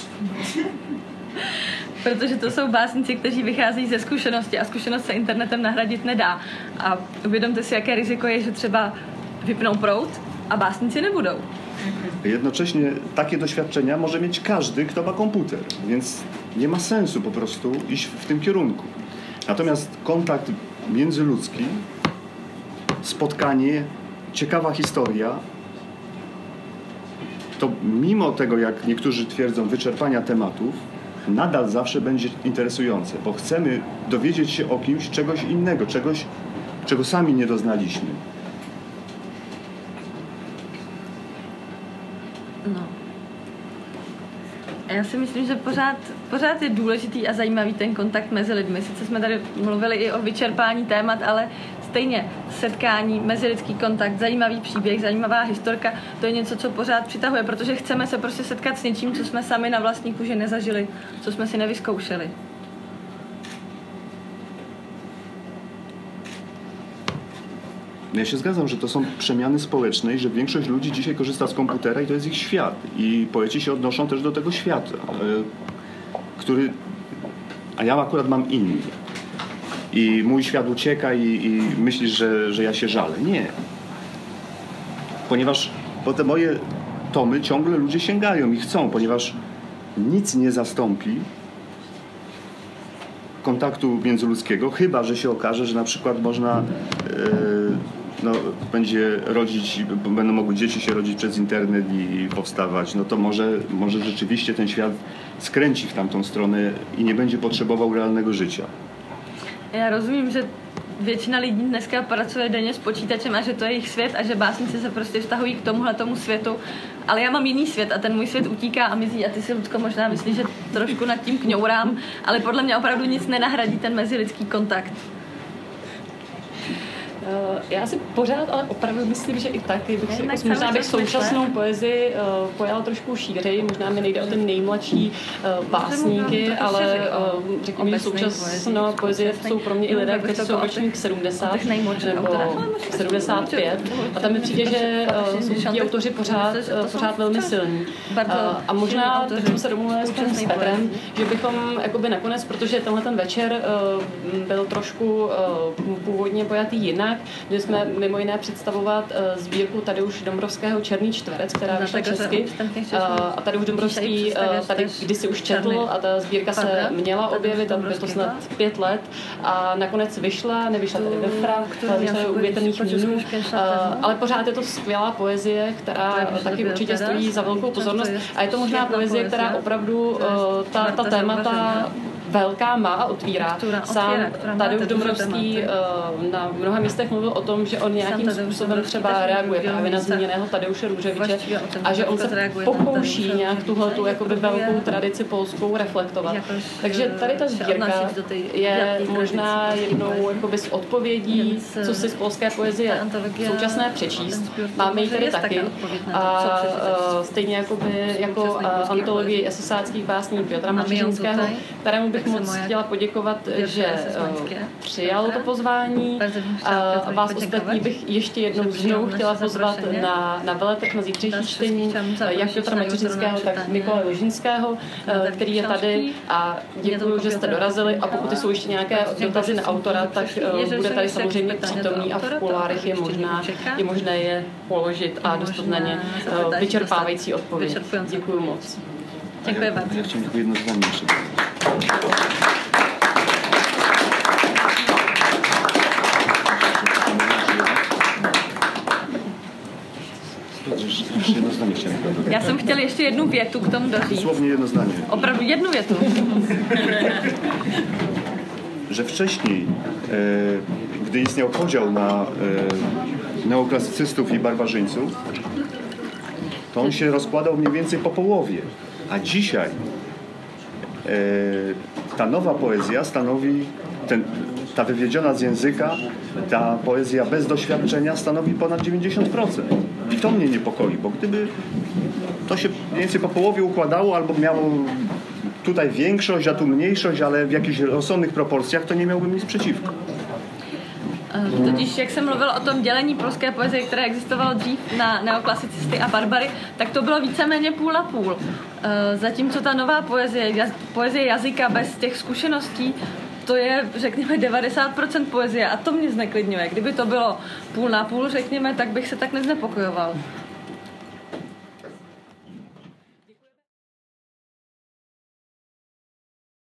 Protože to jsou básníci, kteří vycházejí ze zkušenosti a zkušenost se internetem nahradit nedá. A uvědomte si, jaké riziko je, že třeba vypnou proud a básníci nebudou. Jednocześnie takie doświadczenia może mieć każdy, kto ma komputer, więc nie ma sensu po prostu iść w tym kierunku. Natomiast kontakt międzyludzki, spotkanie, ciekawa historia, to mimo tego, jak niektórzy twierdzą, wyczerpania tematów, nadal zawsze będzie interesujące, bo chcemy dowiedzieć się o kimś czegoś innego, czegoś, czego sami nie doznaliśmy. No. Já si myslím, že pořád je důležitý a zajímavý ten kontakt mezi lidmi. Sice jsme tady mluvili i o vyčerpání témat, ale stejně setkání, mezilidský kontakt, zajímavý příběh, zajímavá historka, to je něco, co pořád přitahuje, protože chceme se prostě setkat s něčím, co jsme sami na vlastní kůži nezažili, co jsme si nevyzkoušeli. Ja się zgadzam, że to są przemiany społeczne i że większość ludzi dzisiaj korzysta z komputera i to jest ich świat. I poeci się odnoszą też do tego świata, który... A ja akurat mam inny. I mój świat ucieka i myślisz, że ja się żalę. Nie. Ponieważ po te moje tomy ciągle ludzie sięgają i chcą, ponieważ nic nie zastąpi kontaktu międzyludzkiego, chyba że się okaże, że na przykład można będzie rodzić, będą mogły dzieci się rodzić przez internet i powstawać, no to może rzeczywiście ten świat skręci w tamtą stronę i nie będzie potrzebował realnego życia. Já rozumím, že většina lidí dneska pracuje denně s počítačem a že to je jejich svět a že básníci se prostě vztahují k tomuhletomu světu, ale já mám jiný svět a ten můj svět utíká a mizí a ty si, Lucko, možná myslíš, že trošku nad tím kňourám, ale podle mě opravdu nic nenahradí ten mezilidský kontakt. Já si pořád, ale opravdu myslím, že i tak, možná bych současnou poezii pojala trošku šířeji, možná mi nejde o ty nejmladší básníky, ale řekněme, současná poezie jsou pro mě i lidé, kteří jsou ročník 70 nebo 75 a tam mi přijde, že jsou ti autoři pořád velmi silní. A možná, tak jsme se domluvili s Petrem, že bychom jakoby nakonec, protože tenhle ten večer byl trošku původně pojatý jinak, kde jsme mimo jiné představovat sbírku Tadeuše Dombrovského Černý čtverec, která vyšla česky. A Tadeuš Dombrovský tady kdysi už četl a ta sbírka se měla objevit, tam bylo snad 5 let a nakonec nevyšla tady ve Fra, vyšla u Větrných mínů, ale pořád je to skvělá poezie, která taky určitě stojí za velkou pozornost a je to možná poezie, která opravdu ta témata velká má a otvírá. Sám Tadeuš Dombrovský na mnoha místech mluvil o tom, že on nějakým způsobem třeba reaguje právě na zmíněného Tadeuše Růževiče a že on se pokouší nějak tuhletu jakoby velkou tradici polskou reflektovat. Takže tady ta sbírka je možná jednou jakoby z odpovědí, co si z polské poezie současné přečíst. Máme ji tady taky a stejně jakoby jako antologii esesáckých básní Piotra Mašinského, kterému bych moc chtěla poděkovat, že přijal to pozvání a vás ostatní bych ještě jednou znovu chtěla pozvat na veletrh na zítřejší čtení jak Piotra Mačerinského, tak Mikołaja Ložinského, který je tady a děkuji, že jste dorazili a pokud jsou ještě nějaké dotazy na autora, tak bude tady samozřejmě přítomný a v kuloárech je možné je položit a dostat na ně vyčerpávající odpověď. Děkuji moc. Děkuji vám. Já chtěl jedno zdání. Jedno zdanie chciałem. Já jsem chtěl ještě jednu větu k tomu doříct. Dosłownie jedno zdanie. Opravdu jednu větu. Że wcześniej, gdy istniał podział na neoklasycystów i barbarzyńców, to on się rozkładał mniej więcej po połowie. A dzisiaj ta nowa poezja stanowi, ta wywiedziona z języka, ta poezja bez doświadczenia stanowi ponad 90%. I to mnie niepokoi, bo gdyby to się mniej więcej po połowie układało albo miało tutaj większość, a tu mniejszość, ale w jakichś rozsądnych proporcjach, to nie miałbym nic przeciwko. Totiž, jak jsem mluvila o tom dělení polské poezie, které existovalo dřív na neoklasicisty a barbary, tak to bylo víceméně půl na půl. Zatímco ta nová poezie jazyka bez těch zkušeností, to je, řekněme, 90% poezie a to mě zneklidňuje. Kdyby to bylo půl na půl, řekněme, tak bych se tak neznepokojoval.